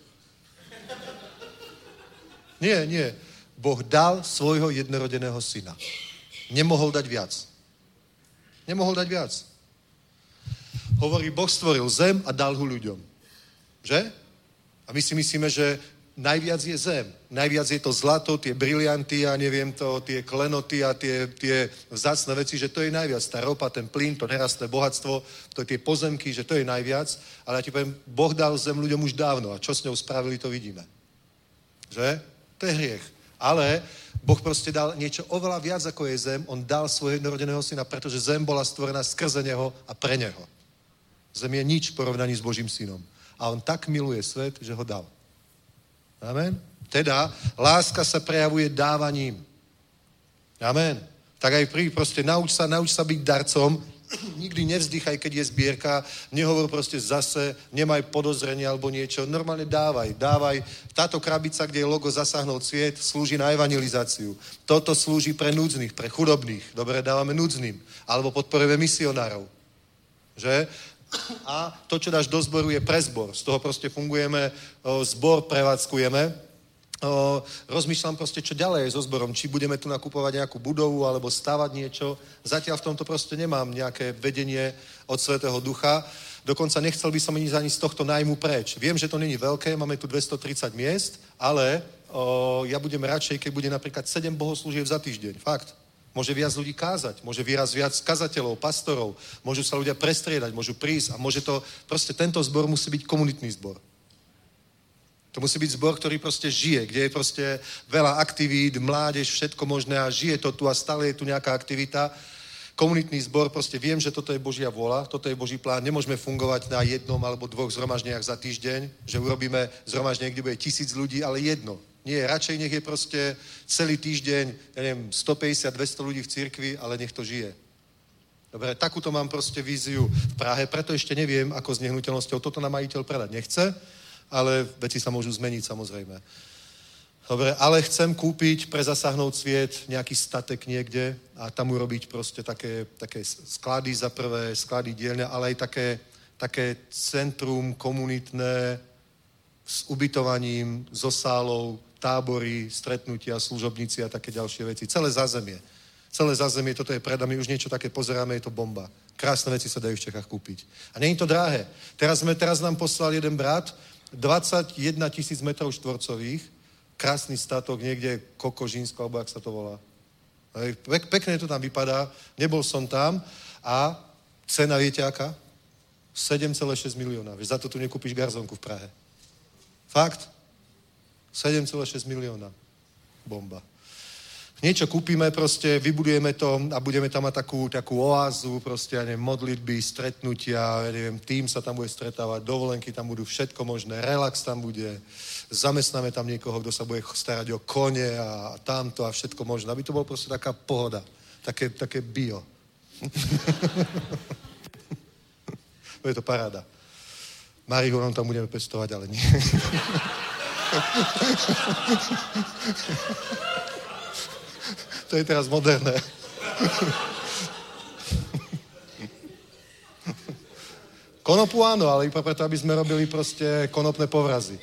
Nie, nie. Boh dal svojho jednorodeného syna. Nemohol dať viac. Nemohol dať viac. Hovorí, Boh stvoril zem a dal ho ľuďom. Že? A my si myslíme, že najviac je zem. Najviac je to zlato, tie brilianty a neviem to, tie klenoty a tie, tie vzácne veci, že to je najviac. Tá ropa, ten plyn, to nerastné bohatstvo, to tie pozemky, že to je najviac. Ale ja ti poviem, Boh dal zem ľuďom už dávno a čo s ňou spravili, to vidíme. Že? To je hriech. Ale Boh proste dal niečo oveľa viac, ako je zem. On dal svojho jednorodeného syna, pretože zem bola stvorená skrze neho a pre neho. Zem je nič v porovnaní s Božím synom. A on tak miluje svet, že ho dal. Amen? Teda, láska sa prejavuje dávaním. Amen? Tak aj pri, proste nauč sa, nauč sa byť darcom. Nikdy nevzdychaj, keď je zbierka. Nehovor proste zase, nemaj podozrenie alebo niečo. Normálne dávaj, dávaj. Táto krabica, kde je logo Zasáhnout sviet, slúži na evangelizáciu. Toto slúži pre núdznych, pre chudobných. Dobre, dávame núdznym. Alebo podporujeme misionárov. Že? a to, čo dáš do zboru, je pre zbor. Z toho proste fungujeme, zbor prevádzkujeme. Rozmýšľam proste, čo ďalej so zborom. Či budeme tu nakupovať nejakú budovu alebo stavať niečo. Zatiaľ v tomto proste nemám nejaké vedenie od Svätého Ducha. Dokonca nechcel by som ísť ani z tohto nájmu preč. Viem, že to není veľké, máme tu dvestotridsať miest, ale o, ja budem radšej, keď bude napríklad sedem bohoslúžieb za týždeň. Fakt. Môže viac ľudí kázať, môže výraz viac kazateľov, pastorov, môžu sa ľudia prestriedať, môžu prísť a môže to, proste tento zbor musí byť komunitný zbor. To musí byť zbor, ktorý proste žije, kde je proste veľa aktivít, mládež, všetko možné a žije to tu a stále je tu nejaká aktivita. Komunitný zbor, proste viem, že toto je Božia vôľa, toto je Boží plán. Nemôžeme fungovať na jednom alebo dvoch zhromaždeniach za týždeň, že urobíme zhromaždenie, kde bude tisíc ľudí, ale jedno. Nie, radšej nech je proste celý týždeň, ja neviem, stopäťdesiat dvesto ľudí v cirkvi, ale nech to žije. Dobre, takúto mám proste víziu v Prahe, preto ešte neviem, ako s nehnuteľnosťou. Toto nám majiteľ predať nechce, ale veci sa môžu zmeniť samozrejme. Dobre, ale chcem kúpiť, prezasahnout sviet, nejaký statek niekde a tam urobiť proste také, také sklady za prvé, sklady dielne, ale aj také, také centrum komunitné s ubytovaním, so sálou, tábory, stretnutia, služobníci a také ďalšie veci. Celé zázemie. Celé zázemie, toto je pred nami, už niečo také pozeráme, je to bomba. Krásne veci sa dajú v Čechách kúpiť. A nie je to drahé. Teraz, sme, teraz nám poslal jeden brat dvadsaťjeden tisíc metrov štvorcových, krásny statok, niekde Kokožínsko, alebo jak sa to volá. Pek, pekne to tam vypadá, nebol som tam a cena viete aká? sedem celá šesť milióna. Vieš, za to tu nekúpiš garzonku v Prahe. Fakt? sedem celá šesť milióna. Bomba. Niečo kúpime proste, vybudujeme to a budeme tam mať takú, takú oázu, proste, ja neviem, modlitby, stretnutia, ja neviem, tým sa tam bude stretávať, dovolenky tam budú, všetko možné, relax tam bude, zamestnáme tam niekoho, kto sa bude starať o kone a tamto a všetko možné, aby to bolo proste taká pohoda, také, také bio. Bude to paráda. Marihuanu tam budeme pestovať, ale nie. To je teraz moderné. Konopu áno, ale iba preto, aby sme robili proste konopné povrazy.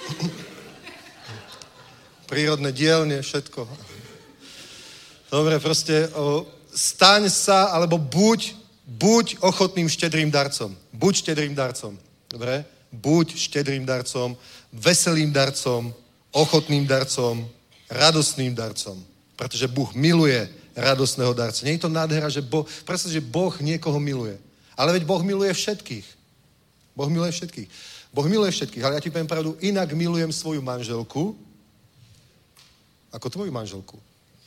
Prírodné dielne, všetko. Dobre, proste o, staň sa, alebo buď, buď ochotným štedrým darcom. Buď štedrým darcom. Dobre? Buď štedrým darcom, veselým darcom, ochotným darcom, radostným darcom. Pretože Boh miluje radostného darca. Nie je to nádhera, že Boh, predstav, že Boh niekoho miluje. Ale veď Boh miluje všetkých. Boh miluje všetkých. Boh miluje všetkých, ale ja ti poviem pravdu, inak milujem svoju manželku ako tvoju manželku.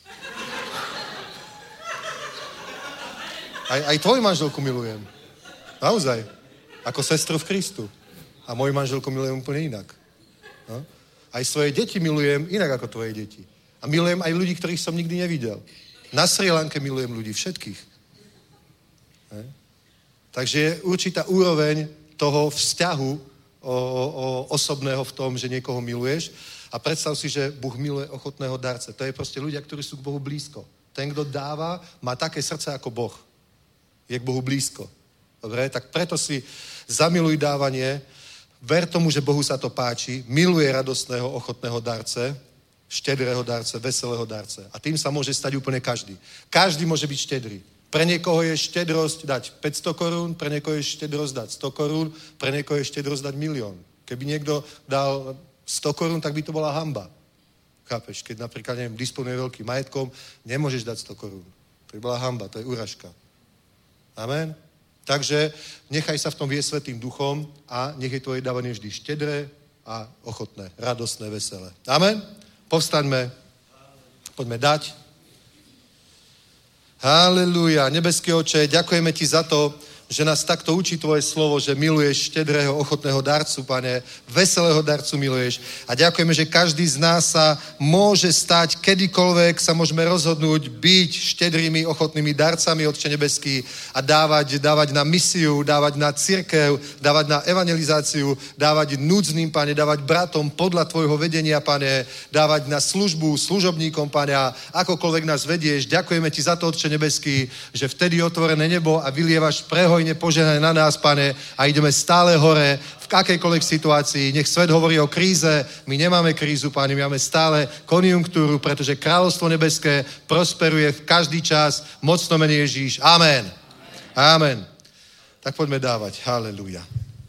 Aj, aj tvoju manželku milujem. Naozaj. Ako sestru v Kristu. A moju manželku milujem úplne inak. No? Aj svoje deti milujem inak ako tvoje deti. A milujem aj ľudí, ktorých som nikdy nevidel. Na Srí Lanke milujem ľudí, všetkých. Ne? Takže je určitá úroveň toho vzťahu o, o, osobného v tom, že niekoho miluješ. A predstav si, že Boh miluje ochotného darce. To je proste ľudia, ktorí sú k Bohu blízko. Ten, kto dáva, má také srdce ako Boh. Je k Bohu blízko. Dobre? Tak preto si zamiluj dávanie, ver tomu, že Bohu sa to páči, miluje radostného, ochotného darce, štedrého darce, veselého darce. A tým sa môže stať úplne každý. Každý môže byť štedrý. Pre niekoho je štedrosť dať päťsto korún, pre niekoho je štedrosť dať sto korún, pre niekoho je štedrosť dať milión. Keby niekto dal sto korún, tak by to bola hanba. Chápeš? Keď napríklad, neviem, disponuje veľkým majetkom, nemôžeš dať sto korún. To by bola hanba, to je úražka. Amen? Takže nechaj sa v tom viesť Svätým Duchom a nech je tvoje dávanie vždy štedré a ochotné, radostné, veselé. Amen? Povstaňme, poďme dať. Halelúja, nebeský Oče, ďakujeme ti za to, že nás takto učí tvoje slovo, že miluješ štedrého, ochotného darcu, Pane, veselého darcu miluješ. A ďakujeme, že každý z nás sa môže stať, kedykoľvek sa môžeme rozhodnúť byť štedrými, ochotnými darcami, Otče nebeský, a dávať, dávať na misiu, dávať na cirkev, dávať na evangelizáciu, dávať núdznym, Pane, dávať bratom podľa tvojho vedenia, Pane, dávať na službu, služobníkom, Pane, a akokoľvek nás vedieš. Ďakujeme ti za to, Otče nebeský, že vtedy otvorené nebo a vylievaš prehoj hojne požehnaj na nás, Pane, a ideme stále hore v akejkoľvek situácii. Nech svet hovorí o kríze, my nemáme krízu, Pane, my máme stále konjunktúru, pretože kráľovstvo nebeské prosperuje v každý čas. Mocno mene Ježíš. Amen. Amen. Tak poďme dávať. Halelúja.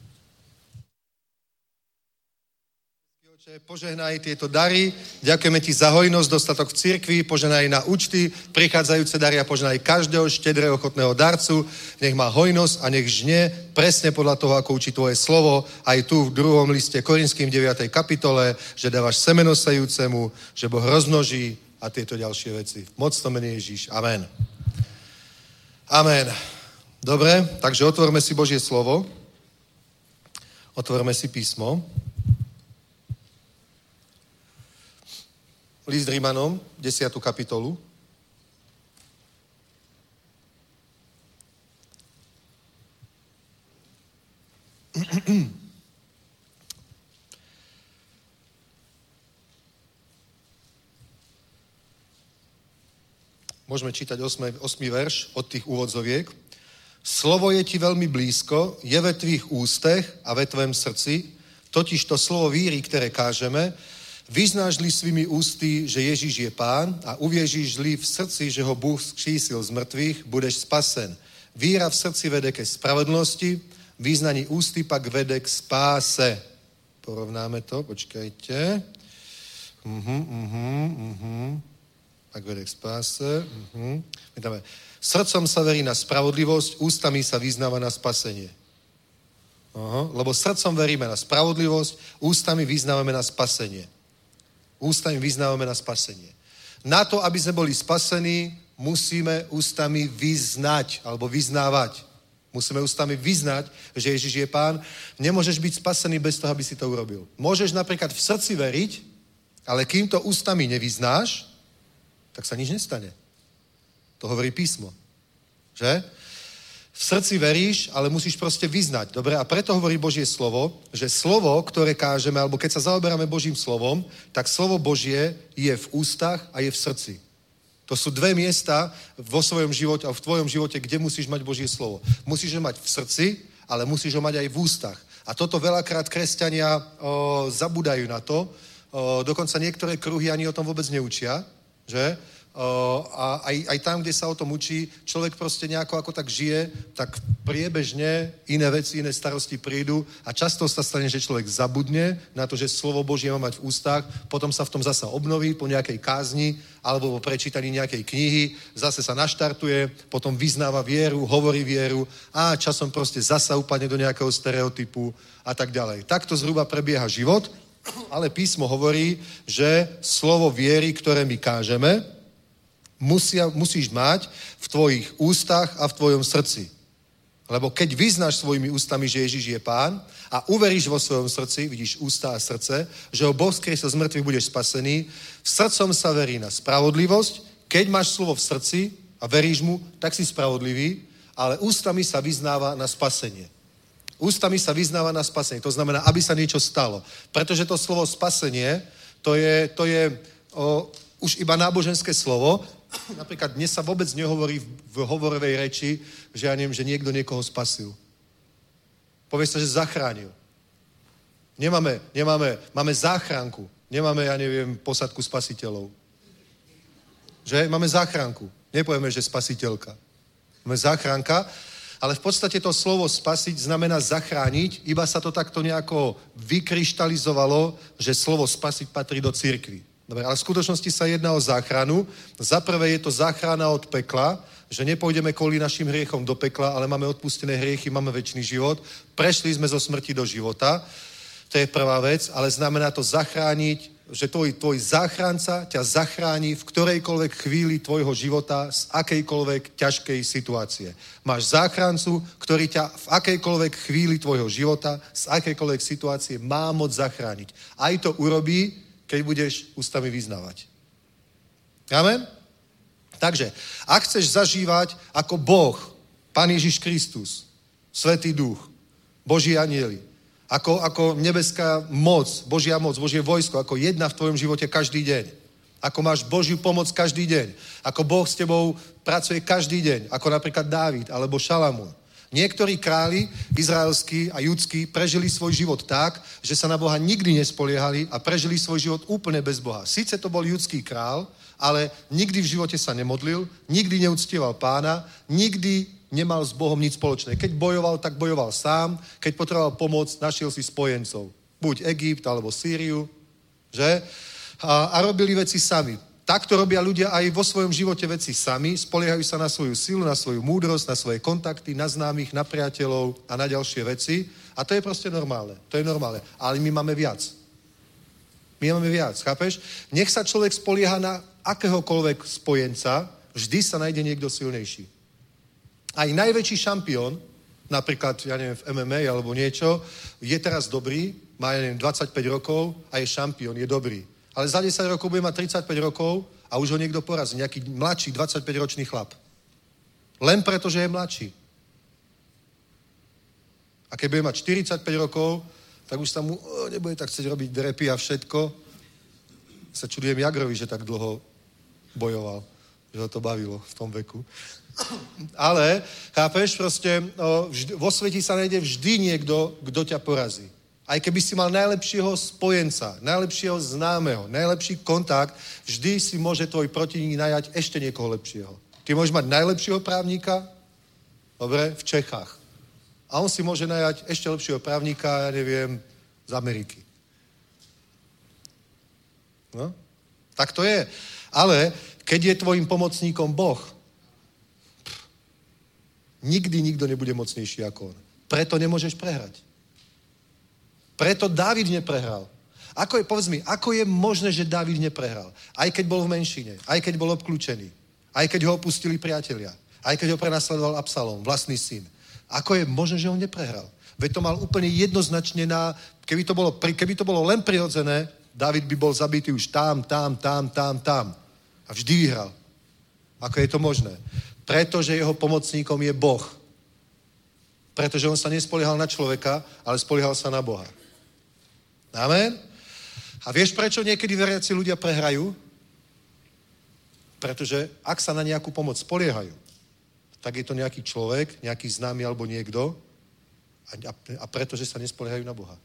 Požehnaj tieto dary, ďakujeme ti za hojnosť, dostatok v cirkvi, požehnaj na účty, prichádzajúce dary a požehnaj každého štedrého ochotného darcu, nech má hojnosť a nech žne presne podľa toho, ako učí tvoje slovo, aj tu v druhom liste Korinským v deviatej kapitole, že dávaš semeno sejúcemu, že Boh rozmnoží a tieto ďalšie veci. Mocno mene Ježíš. Amen. Amen. Dobre, takže otvorme si Božie slovo, otvorme si písmo. List Rímanom, desiatu kapitolu. Môžeme čítať osmý verš od tých úvodzoviek. Slovo je ti veľmi blízko, je ve tvých ústech a ve tvém srdci, totiž to slovo víry, ktoré kážeme, vyznáš-li svými ústy, že Ježíš je Pán a uvěříš-li v srdci, že ho Bůh vzkřísil z mrtvých, budeš spasen. Víra v srdci vede ke spravedlnosti, význaní ústy pak vede k spáse. Porovnáme to, počkajte. Uhum, uhum, uhum. Pak vede k spáse. Uhum. My dáme. Srdcom sa verí na spravodlivosť, ústami sa vyznáva na spasenie. Aha, lebo srdcom veríme na spravodlivosť, ústami vyznávame na spasenie. Ústami vyznávame na spasenie. Na to, aby sme boli spasení, musíme ústami vyznať, alebo vyznávať. Musíme ústami vyznať, že Ježiš je Pán. Nemôžeš byť spasený bez toho, aby si to urobil. Môžeš napríklad v srdci veriť, ale kým to ústami nevyznáš, tak sa nič nestane. To hovorí písmo. Že? V srdci veríš, ale musíš proste vyznať. Dobre? A preto hovorí Božie slovo, že slovo, ktoré kážeme, alebo keď sa zaoberáme Božím slovom, tak slovo Božie je v ústach a je v srdci. To sú dve miesta vo svojom živote a v tvojom živote, kde musíš mať Božie slovo. Musíš ho mať v srdci, ale musíš ho mať aj v ústach. A toto veľakrát kresťania o, zabúdajú na to. O, dokonca niektoré kruhy ani o tom vôbec neučia, že? O, a aj, aj tam, kde sa o tom učí, človek proste nejako ako tak žije, tak priebežne iné veci, iné starosti prídu a často sa stane, že človek zabudne na to, že slovo Božie má mať v ústach, potom sa v tom zasa obnoví po nejakej kázni alebo po prečítaní nejakej knihy, zase sa naštartuje, potom vyznáva vieru, hovorí vieru a časom proste zasa upadne do nejakého stereotypu a tak ďalej. Takto zhruba prebieha život, ale písmo hovorí, že slovo viery, ktoré my kážeme, Musia, musíš mať v tvojich ústach a v tvojom srdci. Lebo keď vyznáš svojimi ústami, že Ježiš je Pán a uveríš vo svojom srdci, vidíš ústa a srdce, že ho Boh skriesil z mŕtvych, budeš spasený, v srdcom sa verí na spravodlivosť, keď máš slovo v srdci a veríš mu, tak si spravodlivý, ale ústami sa vyznáva na spasenie. Ústami sa vyznáva na spasenie. To znamená, aby sa niečo stalo. Pretože to slovo spasenie, to je, to je o, už iba náboženské slovo. Napríklad dnes sa vôbec nehovorí v hovorovej reči, že ja neviem, že niekto niekoho spasil. Povie sa, že zachránil. Nemáme, nemáme, máme záchranku. Nemáme, ja neviem, posadku spasiteľov. Že? Máme záchranku. Nepovieme, že spasiteľka. Máme záchranka, ale v podstate to slovo spasiť znamená zachrániť, iba sa to takto nejako vykryštalizovalo, že slovo spasiť patrí do cirkvi. Dobre, ale v skutočnosti sa jedná o záchranu. Za prvé je to záchrana od pekla, že nepôjdeme kvôli našim hriechom do pekla, ale máme odpustené hriechy, máme večný život. Prešli sme zo smrti do života. To je prvá vec, ale znamená to zachrániť, že tvoj, tvoj záchranca ťa zachráni v ktorejkoľvek chvíli tvojho života z akejkoľvek ťažkej situácie. Máš záchrancu, ktorý ťa v akejkoľvek chvíli tvojho života z akejkoľvek situácie má moc zachrániť. Aj to urobí, keď budeš ústami vyznávať. Amen? Takže, ak chceš zažívať ako Boh, Pán Ježiš Kristus, Svätý Duch, Boží anjeli, ako, ako nebeská moc, Božia moc, Božie vojsko, ako jedna v tvojom živote každý deň. Ako máš Božiu pomoc každý deň. Ako Boh s tebou pracuje každý deň. Ako napríklad Dávid alebo Šalamún. Niektorí králi, izraelskí a judskí, prežili svoj život tak, že sa na Boha nikdy nespoliehali a prežili svoj život úplne bez Boha. Sice to bol judský král, ale nikdy v živote sa nemodlil, nikdy neuctieval Pána, nikdy nemal s Bohom nič spoločné. Keď bojoval, tak bojoval sám, keď potreboval pomoc, našiel si spojencov. Buď Egypt, alebo Sýriu, že? A, a robili veci sami. Takto robia ľudia aj vo svojom živote veci sami, spoliehajú sa na svoju silu, na svoju múdrosť, na svoje kontakty, na známych, na priateľov a na ďalšie veci. A to je proste normálne. To je normálne. Ale my máme viac. My máme viac, chápeš? Nech sa človek spolieha na akéhokoľvek spojenca, vždy sa nájde niekto silnejší. Aj najväčší šampión, napríklad, ja neviem, v em em á alebo niečo, je teraz dobrý, má, ja neviem, dvadsaťpäť rokov a je šampión, je dobrý. Ale za desať rokov bude mať tridsaťpäť rokov a už ho niekto porazí. Nejaký mladší, dvadsaťpäťročný chlap. Len preto, že je mladší. A keď bude mať štyridsaťpäť rokov, tak už sa mu oh, nebude tak chcieť robiť drepy a všetko. Sa čudujem Jagrovi, že tak dlho bojoval. Že ho to bavilo v tom veku. Ale, chápeš, proste o, vždy, vo svete sa nájde vždy niekto, kto ťa porazí. Aj keby si mal najlepšieho spojenca, najlepšieho známeho, najlepší kontakt, vždy si môže tvoj protivník najať ešte niekoho lepšieho. Ty môžeš mať najlepšieho právnika, dobre, v Čechách. A on si môže najať ešte lepšieho právnika, ja neviem, z Ameriky. No? Tak to je. Ale keď je tvojim pomocníkom Boh, pff, nikdy nikto nebude mocnejší ako on. Preto nemôžeš prehrať. Preto Dávid neprehral. Ako je, povedz mi, ako je možné, že Dávid neprehral? Aj keď bol v menšine, aj keď bol obklúčený, aj keď ho opustili priatelia, aj keď ho prenasledoval Absalom, vlastný syn. Ako je možné, že on neprehral? Veď to mal úplne jednoznačne na... Keby to bolo, keby to bolo len prirodzené, Dávid by bol zabitý už tam, tam, tam, tam, tam. A vždy vyhral. Ako je to možné? Pretože jeho pomocníkom je Boh. Pretože on sa nespoliehal na človeka, ale spoliehal sa na Boha. Amen? A vieš, prečo niekedy veriaci ľudia prehrajú? Pretože ak sa na nejakú pomoc spoliehajú, tak je to nejaký človek, nejaký známy alebo niekto a, a, a pretože sa nespoliehajú na Boha.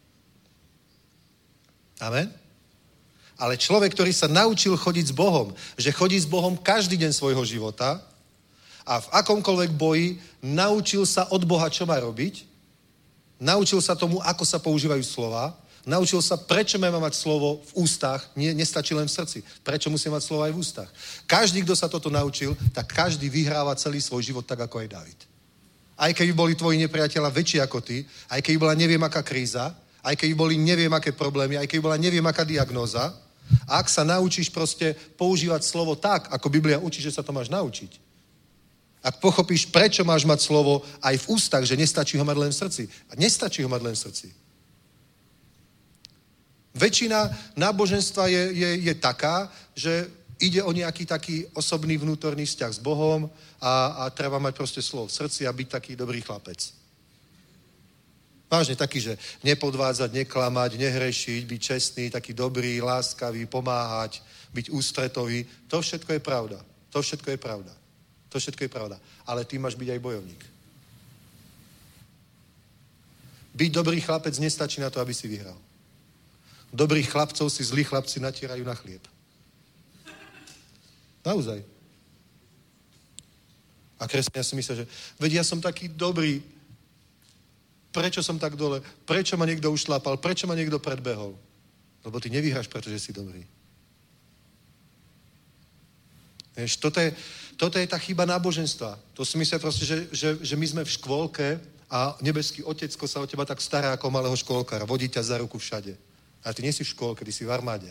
Amen? Ale človek, ktorý sa naučil chodiť s Bohom, že chodí s Bohom každý deň svojho života a v akomkoľvek boji naučil sa od Boha, čo má robiť, naučil sa tomu, ako sa používajú slova, naučil sa, prečo máme mať slovo v ústach, nie, nestačí len v srdci. Prečo musíme mať slovo aj v ústach. Každý, kto sa toto naučil, tak každý vyhráva celý svoj život tak, ako aj Dávid. Aj keby boli tvoji nepriatelia väčší ako ty, aj keby bola neviem aká kríza, aj keby boli neviem aké problémy, aj keby bola neviem aká diagnóza, a ak sa naučíš proste používať slovo tak, ako Biblia učí, že sa to máš naučiť. Ak pochopíš, prečo máš mať slovo aj v ústach, že nestačí ho mať len v srdci. A nestačí ho mať len v srdci. Väčšina náboženstva je, je, je taká, že ide o nejaký taký osobný vnútorný vzťah s Bohom a, a treba mať proste slovo v srdci a byť taký dobrý chlapec. Vážne taký, že nepodvádzať, neklamať, nehrešiť, byť čestný, taký dobrý, láskavý, pomáhať, byť ústretový. To všetko je pravda. To všetko je pravda. To všetko je pravda. Ale ty máš byť aj bojovník. Byť dobrý chlapec nestačí na to, aby si vyhral. Dobrých chlapcov si zlí chlapci natierajú na chlieb. Naozaj. A kresťania si myslia, že veď ja som taký dobrý, prečo som tak dole, prečo ma niekto ušlápal, prečo ma niekto predbehol. Lebo ty nevyhráš, pretože si dobrý. Vieš, toto je, toto je tá chyba náboženstva. To si myslia proste, že, že, že my sme v škôlke a nebeský otecko sa o teba tak stará ako malého škôlkara, vodí ťa za ruku všade. Ale ty nie si v škôlke, ty si v armáde.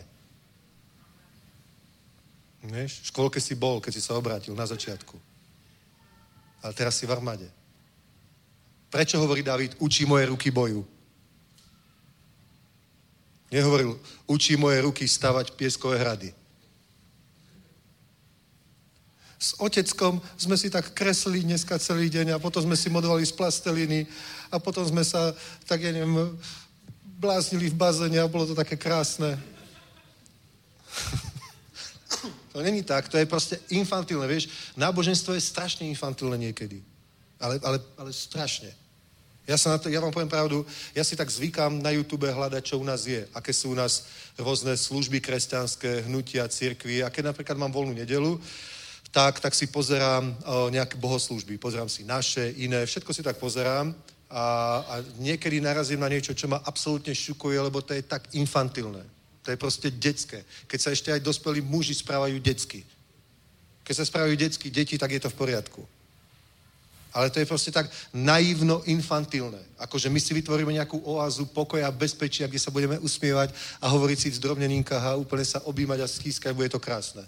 Vieš, v škôlke si bol, keď si sa obrátil na začiatku. Ale teraz si v armáde. Prečo hovorí Dávid, učí moje ruky boju? Nehovoril, učí moje ruky stavať pieskové hrady. S oteckom sme si tak kreslili dneska celý deň a potom sme si modelovali z plasteliny a potom sme sa, tak ja neviem, bláznili v bazéne a bolo to také krásne. To není tak, to je proste infantilné, vieš. Náboženstvo je strašne infantilné niekedy. Ale, ale, ale strašne. Ja, sa na to, ja vám poviem pravdu, ja si tak zvykám na YouTube hľadať, čo u nás je. Aké sú u nás rôzne služby kresťanské, hnutia, cirkvi. A keď napríklad mám voľnú nedelu, tak, tak si pozerám o, nejaké bohoslúžby. Pozerám si naše, iné, všetko si tak pozerám. A, a niekedy narazím na niečo, čo ma absolútne šokuje, lebo to je tak infantilné. To je proste detské. Keď sa ešte aj dospelí muži správajú detsky. Keď sa správajú detsky deti, tak je to v poriadku. Ale to je proste tak naivno infantilné. Akože my si vytvoríme nejakú oázu pokoja a bezpečia, kde sa budeme usmievať a hovoriť si v zdrobneninkách a úplne sa objímať a skýskať, bude to krásne.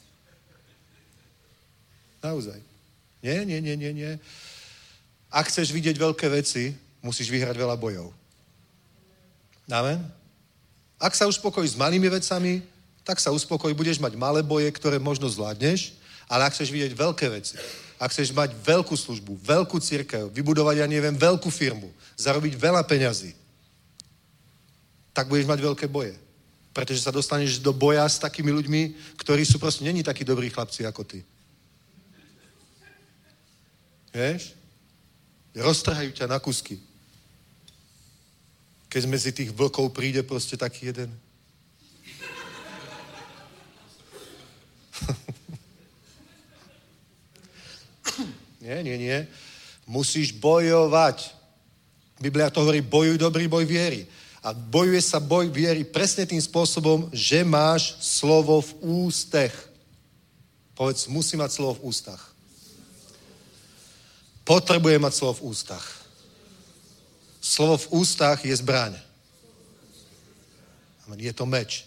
Naozaj. Nie, nie, nie, nie, nie. Ak chceš vidieť veľké veci, musíš vyhrať veľa bojov. Amen? Ak sa uspokojíš s malými vecami, tak sa uspokoj, budeš mať malé boje, ktoré možno zvládneš, ale ak chceš vidieť veľké veci, ak chceš mať veľkú službu, veľkú cirkev, vybudovať, ja neviem, veľkú firmu, zarobiť veľa peňazí, tak budeš mať veľké boje. Pretože sa dostaneš do boja s takými ľuďmi, ktorí sú proste není takí dobrí chlapci ako ty. Vieš? Roztrhajú ťa na kusky. Keď medzi tých vlkov príde proste taký jeden. Nie, nie, nie. Musíš bojovať. Biblia to hovorí, bojuj dobrý boj viery. A bojuje sa boj viery presne tým spôsobom, že máš slovo v ústech. Povedz, musí mať slovo v ústach. Potrebuje mať slovo v ústach. Slovo v ústach je zbraň. Amen. Je to meč.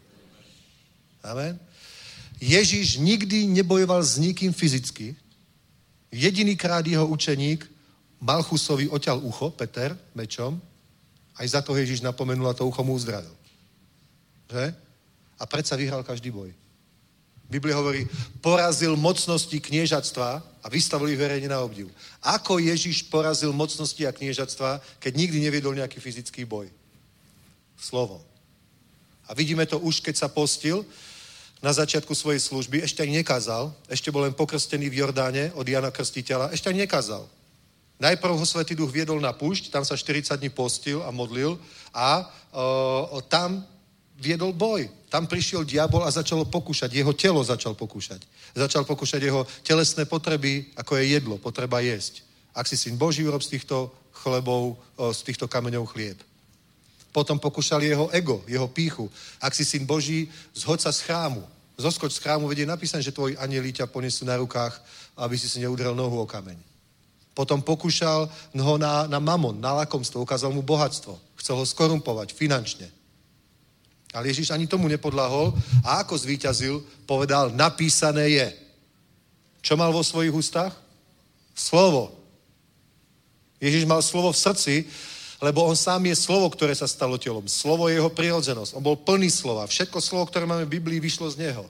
Amen. Ježíš nikdy nebojoval s nikým fyzicky. Jedinýkrát jeho učeník Malchusovi oťal ucho, Peter, mečom. Aj za to Ježíš napomenul a to ucho mu uzdravil. Že? A predsa vyhral každý boj. Biblia hovorí, porazil mocnosti kniežatstva a vystavil ich verejne na obdiv. Ako Ježíš porazil mocnosti a kniežatstva, keď nikdy neviedol nejaký fyzický boj? Slovom. A vidíme to už, keď sa postil na začiatku svojej služby, ešte ani nekázal, ešte bol len pokrstený v Jordáne od Jana Krstiteľa, ešte ani nekázal. Najprv ho Svätý Duch viedol na púšť, tam sa štyridsať dní postil a modlil a o, o, tam viedol boj. Tam prišiel diabol a začalo pokúšať. Jeho telo začal pokúšať. Začal pokúšať jeho telesné potreby, ako je jedlo, potreba jesť. Ak si syn Boží, urob z týchto chlebov, z týchto kameňov chlieb. Potom pokúšal jeho ego, jeho pýchu. Ak si syn Boží, zhoď sa z chrámu. Zoskoč z chrámu, vedie napísané, že tvoji anjeli ťa ponesú na rukách, aby si si neudrel nohu o kameň. Potom pokúšal ho na, na mamon, na lakomstvo, ukázal mu bohatstvo. Chcel ho skorumpovať finančne. Ale Ježíš ani tomu nepodľahol a ako zvíťazil, povedal, napísané je. Čo mal vo svojich ústach? Slovo. Ježíš mal slovo v srdci, lebo on sám je slovo, ktoré sa stalo telom. Slovo je jeho prirodzenosť. On bol plný slova. Všetko slovo, ktoré máme v Biblii, vyšlo z neho.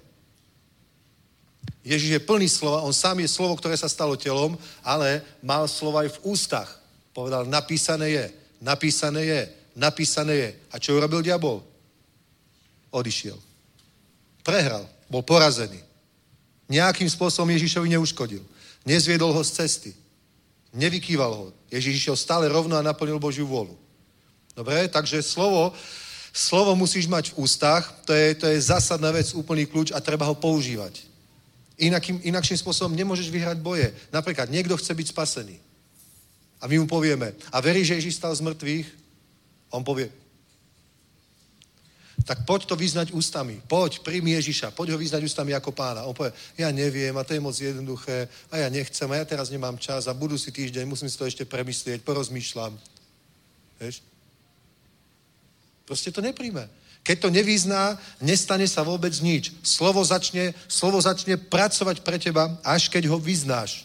Ježíš je plný slova, on sám je slovo, ktoré sa stalo telom, ale mal slova aj v ústach. Povedal, napísané je, napísané je, napísané je. A čo urobil diabol? Odišiel. Prehral. Bol porazený. Nejakým spôsobom Ježíšovi neuškodil. Nezviedol ho z cesty. Nevykýval ho. Ježíš išiel stále rovno a naplnil Božiu vôľu. Dobre, takže slovo, slovo musíš mať v ústach, to je, to je zásadná vec, úplný kľúč a treba ho používať. Inakým, inakším spôsobom nemôžeš vyhrať boje. Napríklad niekto chce byť spasený. A my mu povieme, a verí, že Ježíš stal z mŕtvych? On povie, tak poď to vyznať ústami. Poď, príjmi Ježiša, poď ho vyznať ústami ako pána. On povie, ja neviem a to je moc jednoduché a ja nechcem a ja teraz nemám čas a budú si týždeň, musím si to ešte premyslieť, porozmýšľam. Vieš? Proste to nepríjme. Keď to nevyzná, nestane sa vôbec nič. Slovo začne, slovo začne pracovať pre teba, až keď ho vyznáš.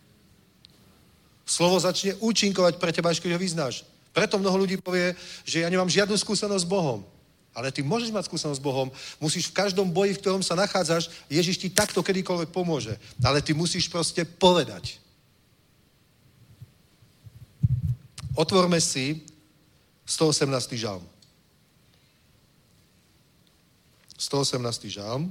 Slovo začne účinkovať pre teba, až keď ho vyznáš. Preto mnoho ľudí povie, že ja nemám žiadnu skúsenosť s Bohom. Ale ty môžeš mať skúsenosť s Bohom, musíš v každom boji, v ktorom sa nachádzaš, Ježiš ti takto kedykoľvek pomôže. Ale ty musíš proste povedať. Otvorme si stoosemnásty žalm. stoosemnásty žalm.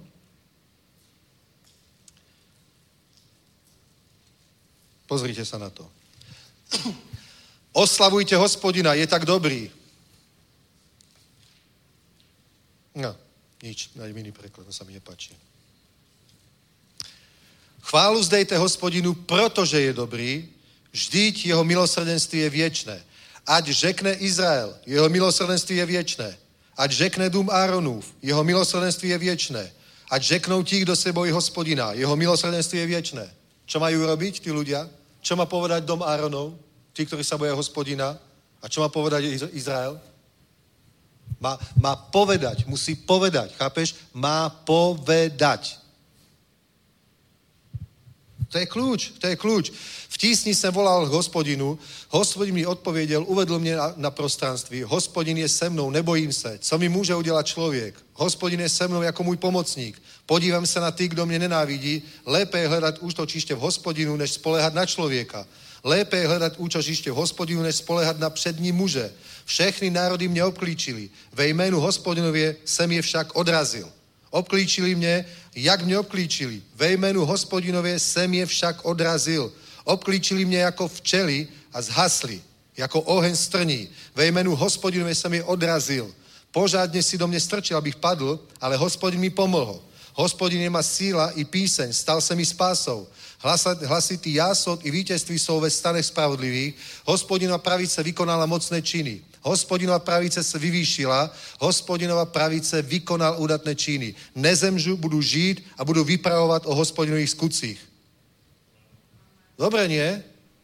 Pozrite sa na to. Oslavujte Hospodina, je tak dobrý. No, nič, nájdem iný preklad, to sa mi nepáči. Chválu zdejte Hospodinu, protože je dobrý, vždyť jeho milosrdenství je viečné. Ať řekne Izrael, jeho milosrdenství je viečné. Ať řekne dům Áronův, jeho milosrdenství je viečné. Ať řeknou ti, kdo se bojí Hospodina, jeho milosrdenství je viečné. Čo majú robiť tí ľudia? Čo má povedať dom Áronov, tí, ktorí sa boja Hospodina? A čo má povedať Izrael? Má, má povedať, musí povedať, chápeš? Má povedať. To je kľúč, to je kľúč. V tísni jsem volal k Hospodinu, Hospodin mi odpověděl, uvedl mě na, na prostranství, Hospodin je se mnou, nebojím se, co mi může udělat člověk. Hospodin je se mnou jako můj pomocník. Podívám se na ty, kdo mě nenávidí, lépe je hledat útočiště v Hospodinu, než spoléhat na člověka. Lépe je hledat útočiště v Hospodinu, než spoléhat na přední muže. Všechny národy mě obklíčili, ve jménu Hospodinově jsem je však odrazil. Obklíčili mě, jak mě obklíčili. Ve jménu Hospodinově jsem je však odrazil. Obklíčili mě jako včely a zhasli, jako oheň strní. Ve jménu Hospodinově jsem je odrazil. Pořádně si do mě strčil, abych padl, ale Hospodin mi pomohl. Hospodin je má síla i píseň, stal se mi spásou. Hlasitý jásot i vítězství jsou ve stanech spravodlivých. Hospodinova pravice vykonala mocné činy. Hospodinova pravice se vyvýšila, Hospodinova pravice vykonal údatné činy. Nezemžu, budu žít a budu vypravovat o Hospodinových skutcích. Dobre, nie?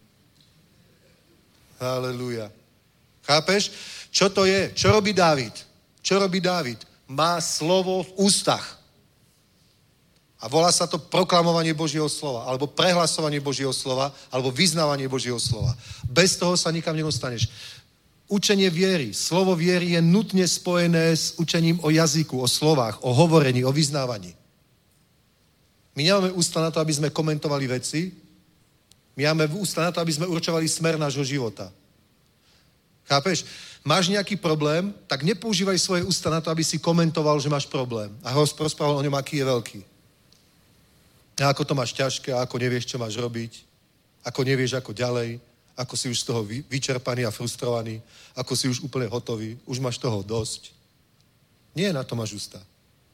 Haleluja. Chápeš? Čo to je? Čo robí Dávid? Čo robí Dávid? Má slovo v ústach. A volá sa to proklamovanie Božieho slova, alebo prehlasovanie Božieho slova, alebo vyznávanie Božieho slova. Bez toho sa nikam nedostaneš. Učenie viery, slovo viery je nutne spojené s učením o jazyku, o slovách, o hovorení, o vyznávaní. My nemáme ústa na to, aby sme komentovali veci, my máme ústa na to, aby sme určovali smer nášho života. Chápeš? Máš nejaký problém, tak nepoužívaj svoje ústa na to, aby si komentoval, že máš problém. A ho rozprával o ňom, aký je veľký. A ako to máš ťažké, a ako nevieš, čo máš robiť, ako nevieš, ako ďalej, ako si už z toho vyčerpaný a frustrovaný, ako si už úplne hotový, už máš toho dosť. Nie na to máš ústa.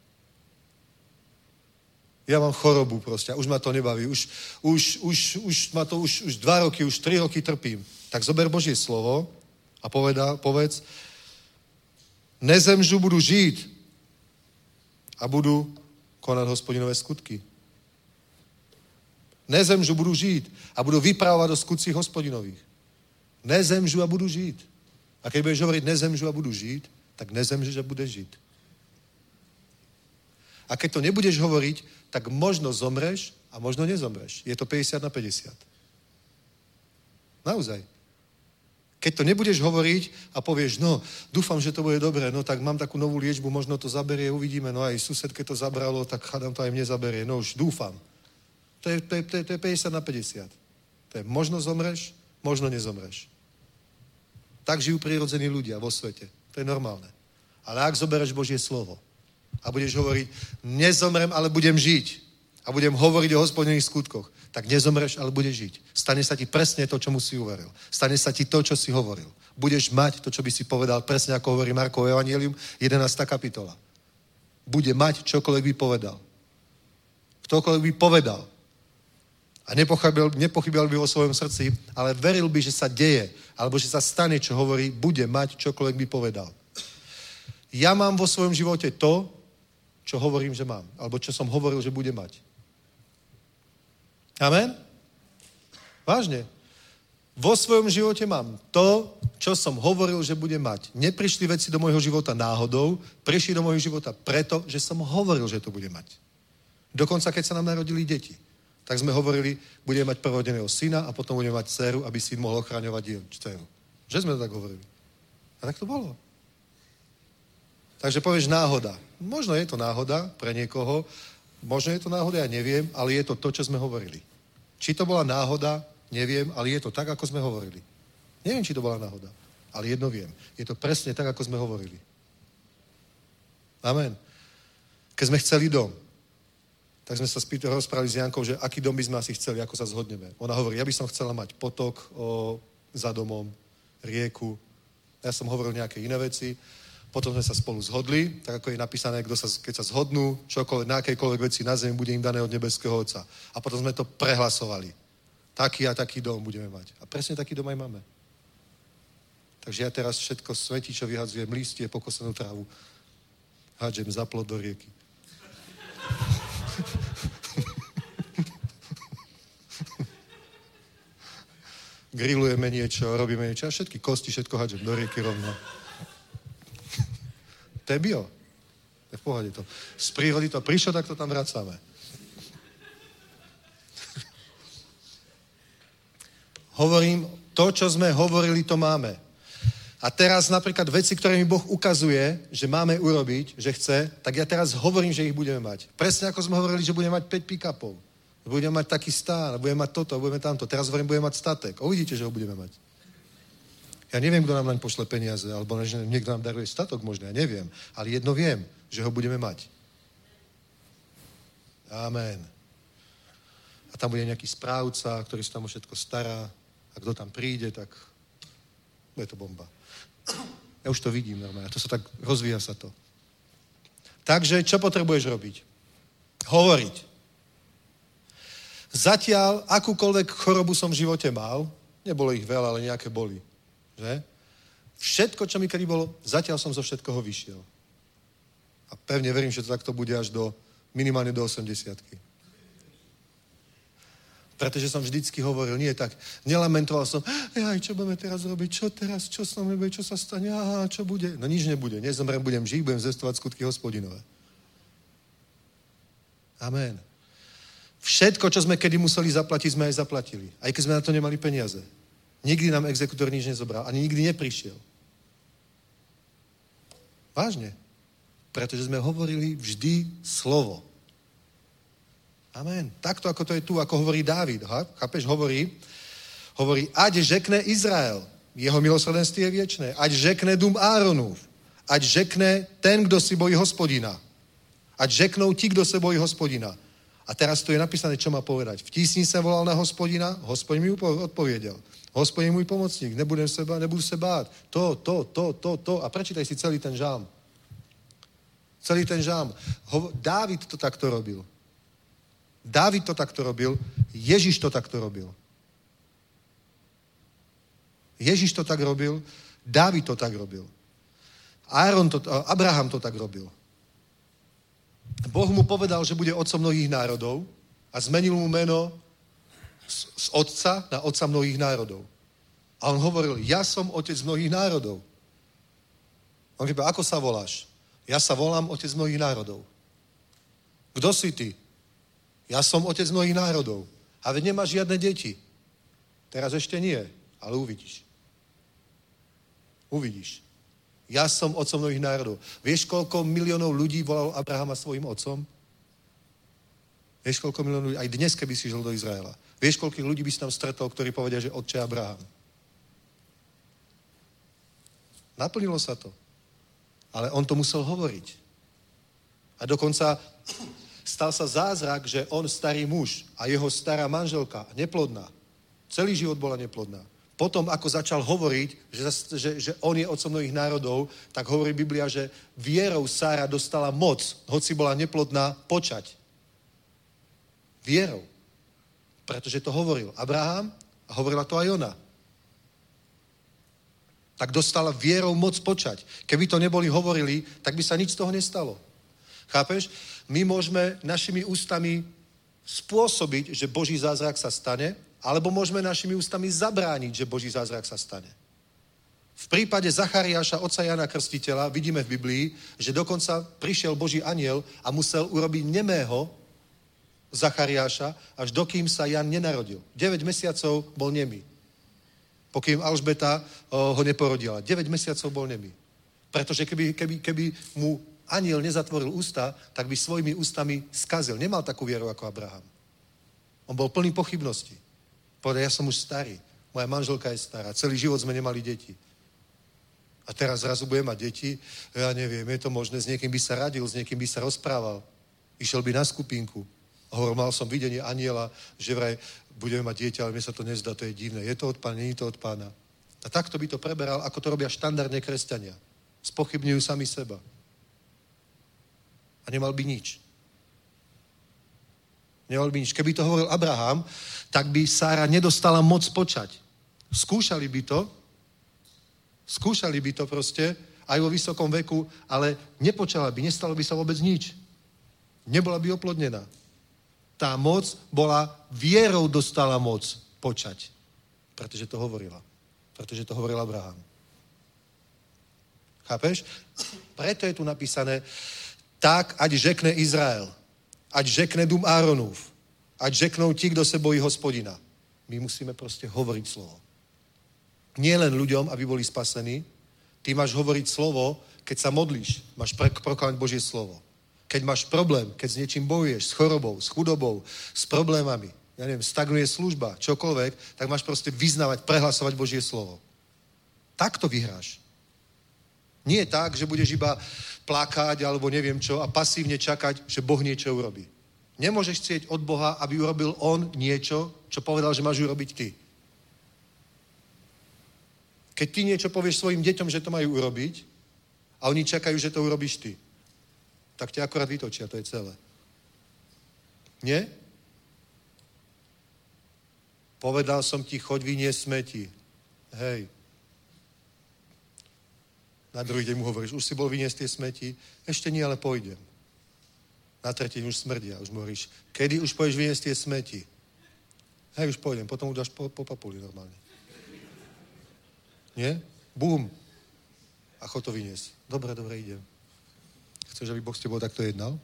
Ja mám chorobu proste, už ma to nebaví, už, už, už, už ma to už, už dva roky, už tri roky trpím. Tak zober Božie slovo a povedá, povedz, nezemžu, budu žít a budu konať Hospodinové skutky. Nezemžu, budu žít a budu vypravovat o skutcích Hospodinových. Nezemžu a budu žít. A keď budeš hovoriť nezemžu a budu žít, tak nezemžeš a budeš žít. A keď to nebudeš hovoriť, tak možno zomreš a možno nezomreš. Je to päťdesiat na päťdesiat. Naozaj. Keď to nebudeš hovoriť a povieš, no, dúfam, že to bude dobré, no tak mám takú novú liečbu, možno to zaberie, uvidíme, no aj susedke to zabralo, tak chádam to aj mne zaberie, no už dúfam. To je, to je, to je, to je päťdesiat na päťdesiat. To je možno zomreš, možno nezomreš. Tak žijú prirodzení ľudia vo svete. To je normálne. Ale ak zobereš Božie slovo a budeš hovoriť, nezomrem, ale budem žiť a budem hovoriť o Hospodinových skutkoch, tak nezomreš, ale budeš žiť. Stane sa ti presne to, čomu si uveril. Stane sa ti to, čo si hovoril. Budeš mať to, čo by si povedal, presne ako hovorí Markovo evanjelium, jedenásta kapitola. Bude mať čokoľvek by povedal. Ktokoľvek by povedal. A nepochybil, nepochybil by vo svojom srdci, ale veril by, že sa deje, alebo že sa stane, čo hovorí, bude mať čokoľvek by povedal. Ja mám vo svojom živote to, čo hovorím, že mám. Alebo čo som hovoril, že bude mať. Amen? Vážne. Vo svojom živote mám to, čo som hovoril, že bude mať. Neprišli veci do môjho života náhodou, prišli do môjho života preto, že som hovoril, že to bude mať. Dokonca, keď sa nám narodili deti, tak sme hovorili, budeme mať prvorodeného syna a potom budeme mať dceru, aby syn mohol ochraňovať dceru. Že sme to tak hovorili. A tak to bolo. Takže povieš náhoda. Možno je to náhoda pre niekoho, možno je to náhoda, ja neviem, ale je to to, čo sme hovorili. Či to bola náhoda, neviem, ale je to tak, ako sme hovorili. Neviem, či to bola náhoda, ale jedno viem. Je to presne tak, ako sme hovorili. Amen. Keď sme chceli dom, tak sme sa rozprávali s Jankou, že aký dom by sme asi chceli, ako sa zhodneme. Ona hovorí, ja by som chcela mať potok o za domom, rieku. Ja som hovoril nejaké iné veci. Potom sme sa spolu zhodli, tak ako je napísané, kto sa, keď sa zhodnú, čokoľvek, na akejkoľvek veci na zemi, bude im dané od nebeského Otca. A potom sme to prehlasovali. Taký a taký dom budeme mať. A presne taký dom aj máme. Takže ja teraz všetko smetí, čo vyhadzujem, listie, pokosenú trávu, hádžem za plot do rieky. Grillujeme niečo, robíme niečo a všetky kosti, všetko hádžem do rieky rovno. To je bio. To je v pohode to. Z prírody to prišlo, tak to tam vracame. Hovorím, to, čo sme hovorili, to máme. A teraz napríklad veci, ktoré mi Boh ukazuje, že máme urobiť, že chce, tak ja teraz hovorím, že ich budeme mať. Presne ako sme hovorili, že budeme mať päť pick-upov. Budeme mať taký stán, budeme mať toto, budeme tamto. Teraz hovorím, budeme mať statek. A uvidíte, že ho budeme mať. Ja neviem, kto nám naň pošle peniaze, alebo niekto nám daruje statok možno, ja neviem. Ale jedno viem, že ho budeme mať. Amen. A tam bude nejaký správca, ktorý sa tam o všetko stará. A kto tam príde, tak bude to bomba. Ja už to vidím normálne. To sa tak, rozvíja sa to. Takže, čo potrebuješ robiť? Hovoriť. Zatiaľ, akúkoľvek chorobu som v živote mal, nebolo ich veľa, ale nejaké boli. Že? Všetko, čo mi kedy bolo, zatiaľ som zo všetkoho vyšiel. A pevne verím, že to takto bude až do, minimálne do osemdesiatky. Pretože som vždycky hovoril, nie tak, nelamentoval som, jaj, čo budeme teraz robiť, čo teraz, čo sa mnou bude, čo sa stane, aha, čo bude? No nič nebude, nezomrem, budem žiť, budem zestovať skutky Hospodinové. Amen. Všetko, čo sme kedy museli zaplatiť, sme aj zaplatili. Aj keď sme na to nemali peniaze. Nikdy nám exekutor nič nezobral. Ani nikdy neprišiel. Vážne. Pretože sme hovorili vždy slovo. Amen. Takto, ako to je tu, ako hovorí Dávid. Ha? Chápeš? Hovorí, hovorí, ať žekne Izrael. Jeho milosrdenství je viečné. Ať žekne dům Áronův. Ať žekne ten, kdo si bojí Hospodina. Ať žeknou ti, kdo se bojí Hospodina. A teraz tu je napísané, čo má povedať. V tísni jsem volal na Hospodina, Hospodin mi odpověděl. Hospodin můj pomocník, nebudem se bát, nebudu se bát. To, to, to, to, to. A prečítaj si celý ten žám. Celý ten žám. Ho, Dávid to takto robil. Dávid to takto robil. Ježiš to takto robil. Ježiš to tak robil. Dávid to tak robil. Áron to, Abraham to tak robil. Boh mu povedal, že bude otcom mnohých národov a zmenil mu meno z, z otca na otca mnohých národov. A on hovoril, ja som otec mnohých národov. On říká, ako sa voláš? Ja sa volám otec mnohých národov. Kto si ty? Ja som otec mnohých národov. A veď nemáš žiadne deti. Teraz ešte nie, ale uvidíš. Uvidíš. Ja som otcom mnohých národov. Vieš, koľko miliónov ľudí volalo Abrahama svojim otcom? Vieš, koľko miliónov ľudí? Aj dnes, keby si žil do Izraela. Vieš, koľkých ľudí by si tam stretol, ktorí povedia, že otče Abraham. Naplnilo sa to. Ale on to musel hovoriť. A dokonca stal sa zázrak, že on starý muž a jeho stará manželka, neplodná, celý život bola neplodná. Potom, ako začal hovoriť, že, že, že on je otcom mnohých národov, tak hovorí Biblia, že vierou Sára dostala moc, hoci bola neplodná, počať. Vierou. Pretože to hovoril Abraham a hovorila to aj ona. Tak dostala vierou moc počať. Keby to neboli hovorili, tak by sa nič z toho nestalo. Chápeš? My môžeme našimi ústami spôsobiť, že Boží zázrak sa stane, alebo môžeme našimi ústami zabrániť, že Boží zázrak sa stane. V prípade Zachariáša, otca Jana Krstiteľa, vidíme v Biblii, že dokonca prišiel Boží anjel a musel urobiť nemého Zachariáša, až dokým sa Jan nenarodil. deväť mesiacov bol nemý. Pokým Alžbeta ho neporodila. deväť mesiacov bol nemý. Pretože keby, keby, keby mu anjel nezatvoril ústa, tak by svojimi ústami skazil. Nemal takú vieru ako Abraham. On bol plný pochybností. Povedal, ja som už starý, moja manželka je stará, celý život sme nemali deti. A teraz zrazu bude mať deti, ja neviem, je to možné, s niekým by sa radil, s niekým by sa rozprával, išiel by na skupinku. Hovoril, mal som videnie aniela, že vraj budeme mať dieťa, ale mne sa to nezdá, to je divné. Je to od pána, nie je to od pána. A takto by to preberal, ako to robia štandardne kresťania. Spochybňujú sami seba. A nemal by nič. Nemal by nič. Keby to hovoril Abraham, tak by Sára nedostala moc počať. Skúšali by to, skúšali by to proste, aj vo vysokom veku, ale nepočala by, nestalo by sa vôbec nič. Nebola by oplodnená. Tá moc bola, vierou dostala moc počať. Pretože to hovorila. Pretože to hovoril Abraham. Chápeš? Preto je tu napísané, tak, ať žekne Izrael, ať žekne dům Áronův, ať žeknou ti, kdo se bojí Hospodina. My musíme proste hovoriť slovo. Nie len ľuďom, aby boli spasení, ty máš hovoriť slovo, keď sa modlíš, máš proklamať Božie slovo. Keď máš problém, keď s niečím bojuješ, s chorobou, s chudobou, s problémami, ja neviem, stagnuje služba, čokoľvek, tak máš proste vyznávať, prehlasovať Božie slovo. Tak to vyhráš. Nie je tak, že budeš iba plakať alebo neviem čo a pasívne čakať, že Boh niečo urobí. Nemôžeš chcieť od Boha, aby urobil on niečo, čo povedal, že máš urobiť ty. Keď ty niečo povieš svojim deťom, že to majú urobiť a oni čakajú, že to urobíš ty, tak ťa akorát vytočia, to je celé. Nie? Povedal som ti, choď vyniesť smeti. Hej. Na druhý deň mu hovoríš, už si bol vyniesť tie smeti? Ešte nie, ale pôjdem. Na tretí deň už smrdia. Už mu hovoríš, kedy už pôjdeš vyniesť tie smeti? Hej, už pôjdem. Potom už dáš po, po papuli normálne. Nie? Bum. A chod to vyniesť. Dobre, dobre, idem. Chceš, aby Boh s tebou takto jednal?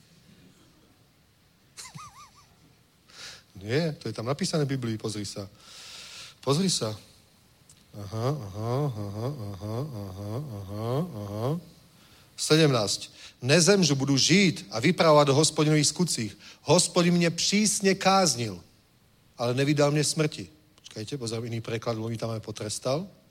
Nie, to je tam napísané v Biblii, pozri sa. Pozri sa. Aha, aha, aha, aha, aha, aha, aha. sedemnásť. Nezemžu, budu žít a vypravovat o Hospodinových skutcích. Hospodin mě přísně káznil, ale nevydal mě smrti. Počkajte, pozor, iný preklad, lebo mi tam aj potrestal.